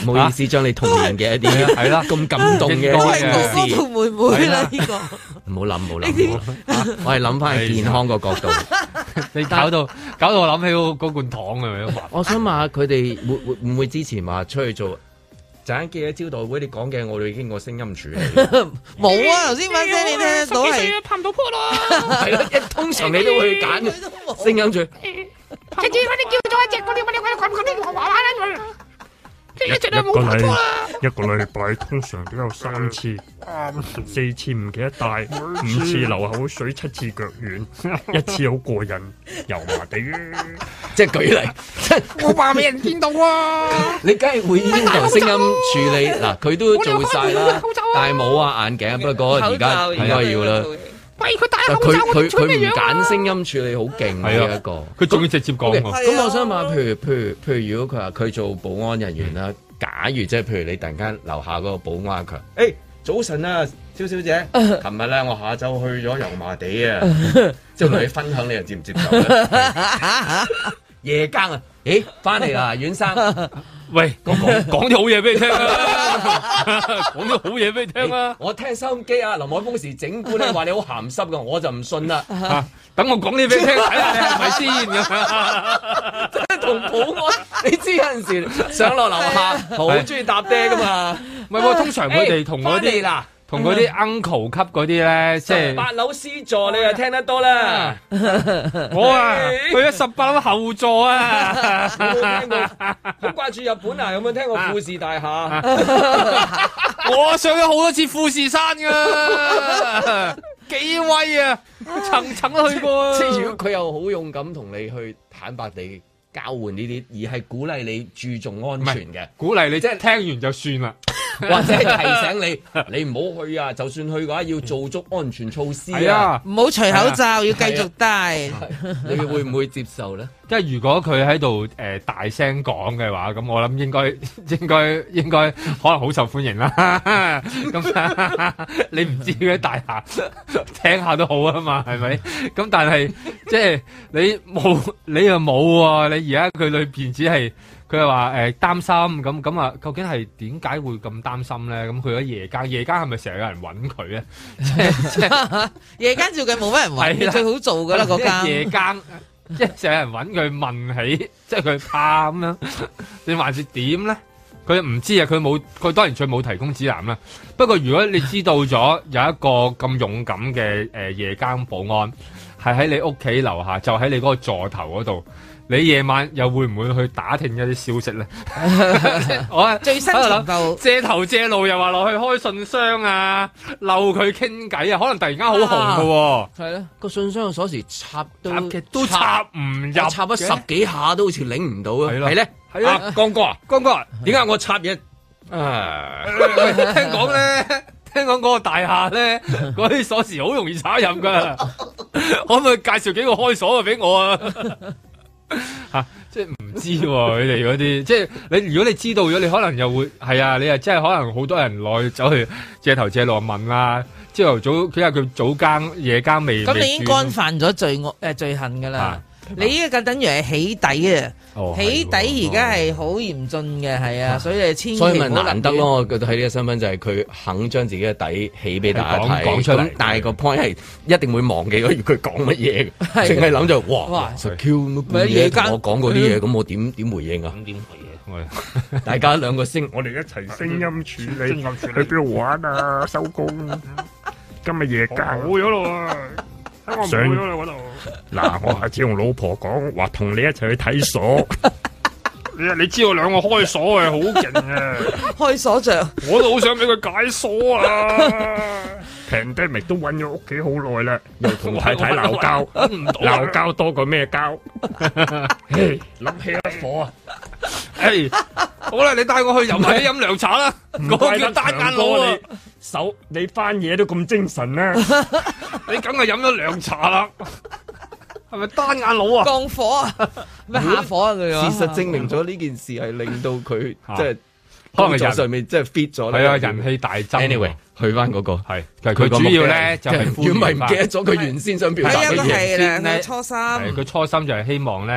唔好意思，將你童年嘅一啲係啦咁感動嘅一啲事， 同妹妹啦呢個， 唔好諗，唔好諗，我係諗翻健康個角度。 你搞到搞到我諗起嗰罐糖啊！ 我想問下佢哋會會唔會之前話出去做？陣間記者招待會，你講嘅我哋已經過聲音處理。 冇啊！頭先把聲你聽得到係拍唔到波咯。係咯，一通常你都會揀聲音處。 直接嗰啲叫咗一隻嗰啲乜嘢乜嘢嗰啲娃娃啦佢。 一一個禮一個禮拜通常都有三次，四次唔記得帶，五次流口水，七次腳軟，一次好過癮，油麻地。 即係舉例， 我話俾人見到啊！ 你梗係會要求聲音處理嗱，佢都做晒啦，戴帽啊、眼鏡，不過而家應該要啦。 喂，佢戴口罩， 佢佢佢唔揀聲音處理好勁嘅一個， 佢仲要直接講。 咁我想問，譬如譬如譬如，如果佢話佢做保安人員啦，假如即係譬如你突然間樓下嗰個保安強，誒早晨啊，蕭小姐，琴日咧我下晝去咗油麻地啊，即係同你分享，你又接唔接受咧？夜更啊，誒翻嚟啦，阮生。 喂，講講啲好嘢俾你聽啊！講啲好嘢俾你聽啊！ 我聽收音機啊，林海峰時整蠱咧話你好鹹濕噶，我就唔信啦。 等我講啲俾你聽，睇下你係咪先咁。 即係同保安，你知有陣時上落樓下好中意搭爹噶嘛？ 唔係喎，通常佢哋同嗰啲嗱。同嗰啲 uncle 級嗰啲咧，即係八樓 C 座，你又聽得多啦。 我啊，去咗十八樓後座啊， 有冇聽過？好掛住日本啊！有冇聽過富士大廈？ 我上咗好多次富士山噶，幾威啊！層層都去過。 即係如果佢又好勇敢同你去坦白地交換呢啲，而係鼓勵你注重安全嘅， 鼓勵你即係聽完就算啦。 或者係提醒你，你唔好去啊！就算去嘅話，要做足安全措施啊！ 唔好除口罩，要繼續戴。 你會唔會接受咧？ 即係如果佢喺度誒大聲講嘅話，咁我諗應該應該應該可能好受歡迎啦。咁你唔知嘅大廈聽下都好啊嘛，係咪？咁但係即係你冇你又冇喎，你而家佢裏邊只係。佢係話誒擔心咁咁啊，究竟係點解會咁擔心咧？咁佢喺夜間，夜間係咪成日有人揾佢咧？即係夜間照計冇乜人揾，最好做噶啦嗰間。 夜間即係成日有人揾佢問起，即係佢怕咁樣，你還是點咧？佢唔知啊，佢冇，佢當然佢冇提供指南啦。不過如果你知道咗有一個咁勇敢嘅誒夜間保安，係喺你屋企樓下，就喺你嗰個座頭嗰度。你夜晚又會唔會去打聽一啲消息咧？我最新情報借頭借路又話落去開信箱啊，溜佢傾偈啊，可能突然間好紅噶喎。 係咧，個信箱嘅鎖匙插都都插唔入， 插咗十幾下都好似擰唔到啊。 係咧，係啊，江哥啊，江哥啊，點解我插嘢啊？聽講咧，聽講嗰個大廈咧，嗰啲鎖匙好容易插入噶，可唔可以介紹幾個開鎖嘅俾我啊？吓、啊，即係唔知佢哋嗰啲，即係你如果你知道咗，你可能又會係啊，你又真係可能好多人來走去借頭借路問啊，朝頭早睇下佢早更夜更未， 咁你已經干犯咗罪惡誒罪行噶啦。啊你呢個等於係起底啊！ 哦、 起底而家係好嚴峻嘅，係啊，所以你千祈唔好。 所以咪難得咯，我覺得喺呢個身份就係佢肯將自己嘅底起俾大家睇，講出嚟。但係個 point 係一定會忘記咗佢講乜嘢，淨係諗就哇哇 Q 乜嘢，我講嗰啲嘢，咁我點點回應啊？咁點回應？大家兩個聲， 我哋一齊聲音處理，去邊度玩啊？收工，今日夜更好咗咯。上嗱，我下次同老婆講話，同你一齊去睇鎖。你你知道兩個開鎖係好勁啊！ 開鎖匠， 我都好想俾佢解鎖啊！平低咪都揾咗屋企好耐啦，又同太太鬧交，鬧交多過咩交？諗起一火啊！ 誒，好啦，你帶我去油麻地飲涼茶啦，嗰個叫單眼佬啊！ 手你翻嘢都咁精神啦， 你梗係飲咗涼茶啦，係咪單眼佬啊？ 降火啊？咩下火啊？佢事實證明咗呢件事係令到佢即係工作上面即係 fit 咗啦。 係啊，人氣大增。 Anyway，去翻嗰個係佢主要咧就係如果唔係唔記得咗佢原先想表達嘅嘢先咧。 初心， 佢初心就係希望咧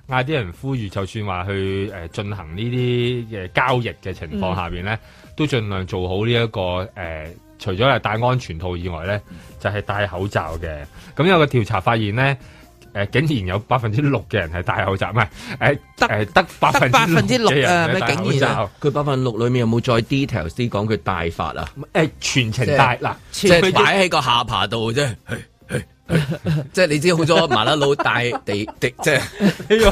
嗌啲人呼籲，就算話去誒進行呢啲嘅交易嘅情況下邊咧，嗯、都盡量做好呢、這、一個誒、呃，除咗係戴安全套以外咧，就係、是、戴口罩嘅。咁有個調查發現咧。誒、呃，竟然有百分之六嘅人係戴口罩，唔係誒，得誒得百分之六嘅人係戴口罩。 佢百分之六裏面有冇再 details 啲講佢戴法啊？誒、 呃，全程戴嗱， 即係擺喺個下巴度啫。即係你知好多麻甩佬戴地地，即係唔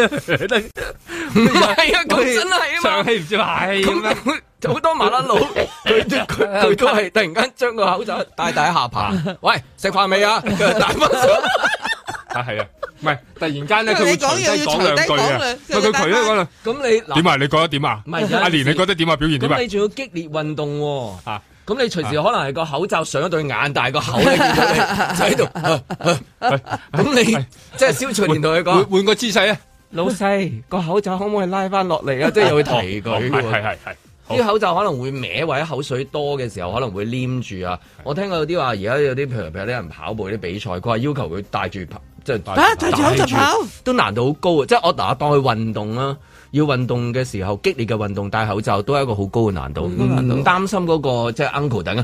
係啊？咁真係啊嘛！ 上氣唔知係咁樣， 好多麻甩佬佢佢佢都係突然間將個口罩戴戴喺下巴。喂，食飯未啊？戴翻啊，係啊，唔係突然間咧，佢會隨低講兩句啊，佢佢隨低講兩， 咁你點啊？你覺得點啊？ 唔係阿蓮，你覺得點啊？表現點啊？ 咁你仲要激烈運動喎，啊，咁你隨時可能係個口罩上咗對眼，但係個口咧見到你就喺度，咁你即係蕭翠蓮同佢講， 換個姿勢啊， 老細個口罩可唔可以拉翻落嚟啊？即係又會提佢， 係係係。 啲口罩可能會歪，或者口水多嘅時候可能會黏住啊！我聽過有啲話，而家有啲譬如譬如啲人跑步啲比賽，佢話要求佢戴住即係戴住口罩跑， 都難度好高啊！即係我嗱當佢運動啦，要運動嘅時候激烈嘅運動戴口罩都係一個好高嘅難度，唔、嗯、唔擔心嗰、嗰個即係 uncle 等啊！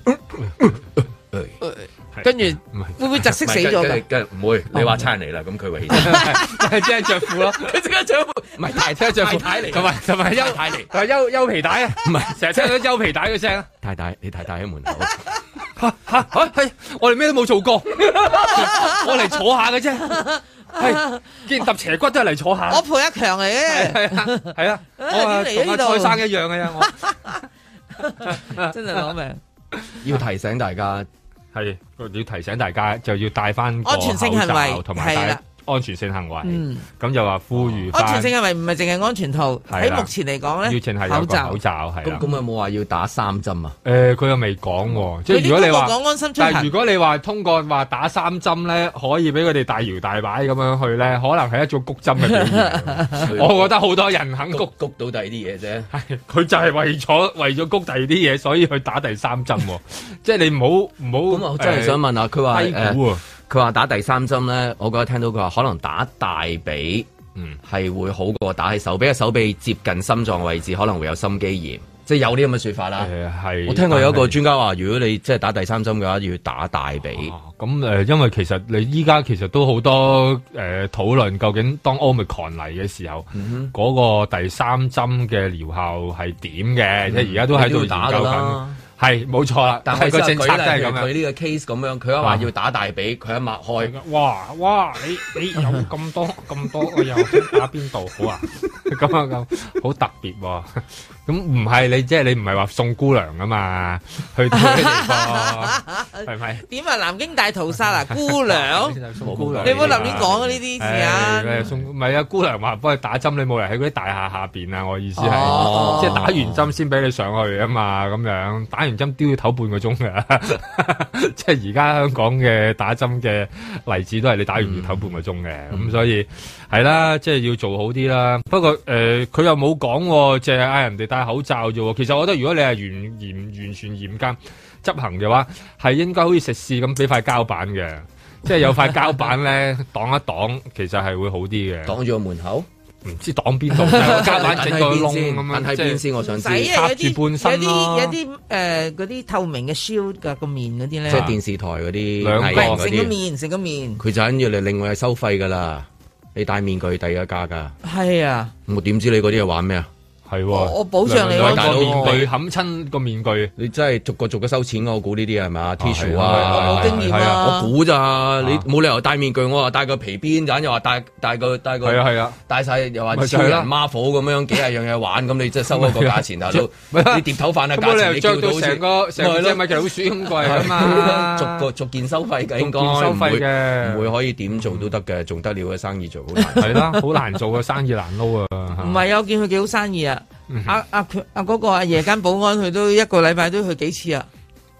跟住會唔會窒息死咗㗎？唔會，你話差人嚟啦，咁佢為即係着褲咯， 佢即刻着褲，唔係太太着褲太嚟， 同埋同埋休太嚟， 同埋休休皮帶啊，唔係成日聽到休皮帶嘅聲啊！ 太太，你太太喺門口嚇嚇嚇，係我哋咩都冇做過，我嚟坐下嘅啫，係既然揼斜骨都係嚟坐下。 我陪阿強嚟嘅， 係啊係啊，我同阿蔡生一樣嘅啫， 我真係攞命， 要提醒大家。 係，要提醒大家就要戴翻個安全性行為， 同埋戴安全性行為。嗯，咁就話呼籲安全性行為唔係淨係安全套，喺目前嚟講咧， 要淨係有個口罩係啦。 咁咁有冇話要打三針啊？ 誒，佢又未講喎。即係如果你話， 講安心出行， 但係如果你話通過話打三針咧，可以俾佢哋大搖大擺咁樣去咧，可能係一種谷針嘅表現。我覺得好多人肯谷谷到第二啲嘢啫。 係，佢就係為咗為咗谷第二啲嘢，所以去打第三針。即係你唔好唔好。 咁我真係想問下，佢話誒。佢話打第三針咧，我覺得聽到佢話可能打大髀，嗯，係會好過打喺手臂，手臂接近心臟位置可能會有心肌炎，即係有啲咁嘅說法啦。 係， 我聽過有一個專家話，如果你即係打第三針嘅話，要打大髀。 咁誒、啊呃，因為其實你依家其實都好多誒討論，究竟當 Omicron 嚟嘅時候，嗰、嗯、個第三針嘅療效係點嘅？即係而家都喺度研究緊。係冇錯啦，但係個政策都係咁樣。 佢呢個 case 咁樣，佢話要打大髀，佢一擘開。 哇哇！你你有咁多咁多，我又打邊度好啊？咁啊咁，好特別喎。咁唔係你即係你唔係話送姑娘啊嘛？去到嘅地方係咪？ 點啊？南京大屠殺啊？姑娘， 送姑娘， 你唔好立亂講呢啲事啊！ 送唔係啊？姑娘話幫佢打針，你冇人喺嗰啲大廈下邊啊！我意思係，即係打完針先俾你上去啊嘛，咁樣打完針都要唞半個鐘㗎，即係而家香港嘅打針嘅例子都係你打完要唞半個鐘嘅，咁、嗯、所以係啦，即係要做好啲啦。不過誒，佢、呃、又冇講，淨係嗌人哋戴口罩啫。其實我覺得如果你係嚴嚴完全嚴格執行嘅話，係應該好似食肆咁俾塊膠板嘅，即係有塊膠板咧擋一擋，其實係會好啲嘅。 擋住個門口。 唔知擋邊度，膠板整個窿咁樣， 喺邊先？我想知。 插住半身咯。 有啲有啲誒嗰啲透明嘅 shield 㗎個面嗰啲咧。 即係電視台嗰啲。 兩個嗰啲。 成個面，成個面。 佢就緊要嚟另外係收費㗎啦，你戴面具第一家㗎。 係啊。 我點知你嗰啲係玩咩啊？ 係喎， 我保障你兩個面具冚親個面具， 你真係逐個逐個收錢，我估呢啲係咪 Tissue 啊，我冇經驗啊， 我估咋，你冇理由戴面具，我話戴個皮鞭，陣又話戴戴個戴個， 係啊係啊， 戴晒又話超人 Marvel 咁樣幾廿樣嘢玩，咁你即係收一個價錢大佬，你碟頭飯啊價錢你叫到成個成隻米奇老鼠咁貴啊嘛， 逐個逐件收費嘅應該， 收費嘅， 唔會可以點做都得嘅，仲得了嘅生意做好難， 係啦，好難做嘅生意難撈啊， 唔係啊，我見佢幾好生意啊。阿阿阿嗰個阿夜間保安，佢都一個禮拜都去幾次啊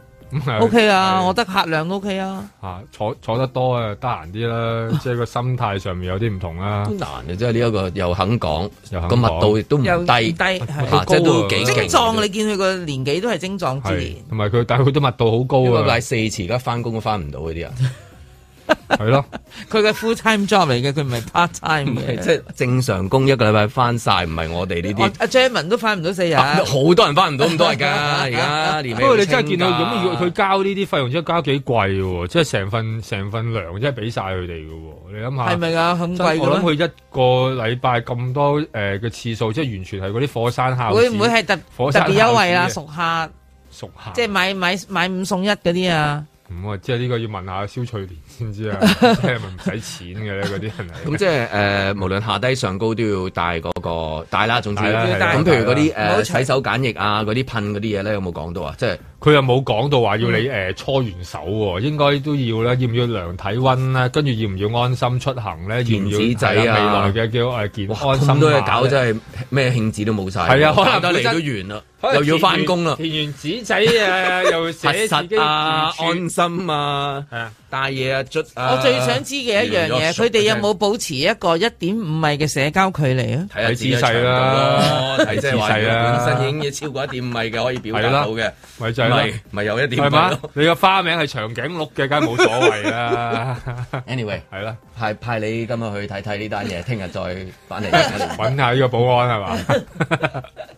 ？O K 啊，我得客量 O K 啊。 吓坐坐得多啊，得閒啲啦，即係個心態上面有啲唔同啦。 都難嘅，即係呢一個又肯講，個密度亦都唔低， 低係即係都幾精壯。你見佢個年紀都係精壯之年， 同埋佢但係佢都密度好高啊。 禮拜四次而家翻工都翻唔到嗰啲人。 係咯， 佢嘅 full time job 嚟嘅，佢唔係 part time 嘅， 即係正常工一個禮拜翻晒，唔係我哋呢啲。 阿 Jeremy 都翻唔到四日， 好多人翻唔到咁多日㗎，而家年尾。 不過你真係見到咁，如果佢交呢啲費用，真係交幾貴喎，即係成份成份糧，真係俾晒佢哋嘅喎。你諗下， 係咪啊？咁貴嘅？ 我諗佢一個禮拜咁多誒嘅次數，即係完全係嗰啲火山孝子。 會唔會係特特別優惠啊？熟客， 熟客， 即係買買買五送一嗰啲啊？ 咁啊，即係呢個要問下蕭翠蓮先知啊，即係咪唔使錢嘅咧？嗰啲人嚟。咁即係誒，無論下低上高都要帶嗰個帶啦，總之咁譬如嗰啲誒洗手梘液啊，嗰啲噴嗰啲嘢咧，有冇講到啊？即係佢又冇講到話要你誒搓完手喎，應該都要啦。要唔要量體溫咧？跟住要唔要安心出行咧？ 電子仔啊， 未來嘅叫誒健安心。 咁多嘢搞真係咩興致都冇晒。 係啊，可能得嚟都完啦。又要翻工啦， 填完紙仔啊，又寫自己啊，安心啊，係啊，帶嘢啊，捽啊。 我最想知嘅一樣嘢，佢哋有冇保持一個一點五米嘅社交距離啊？ 睇姿勢啦，睇姿勢啦，本身已經要超過一點五米嘅可以表達到嘅， 咪就係咪有一點五米咯。 你個花名係長頸鹿嘅，梗係冇所謂啦。 Anyway， 係啦， 派派你今日去睇睇呢單嘢，聽日再翻嚟揾下呢個保安係嘛？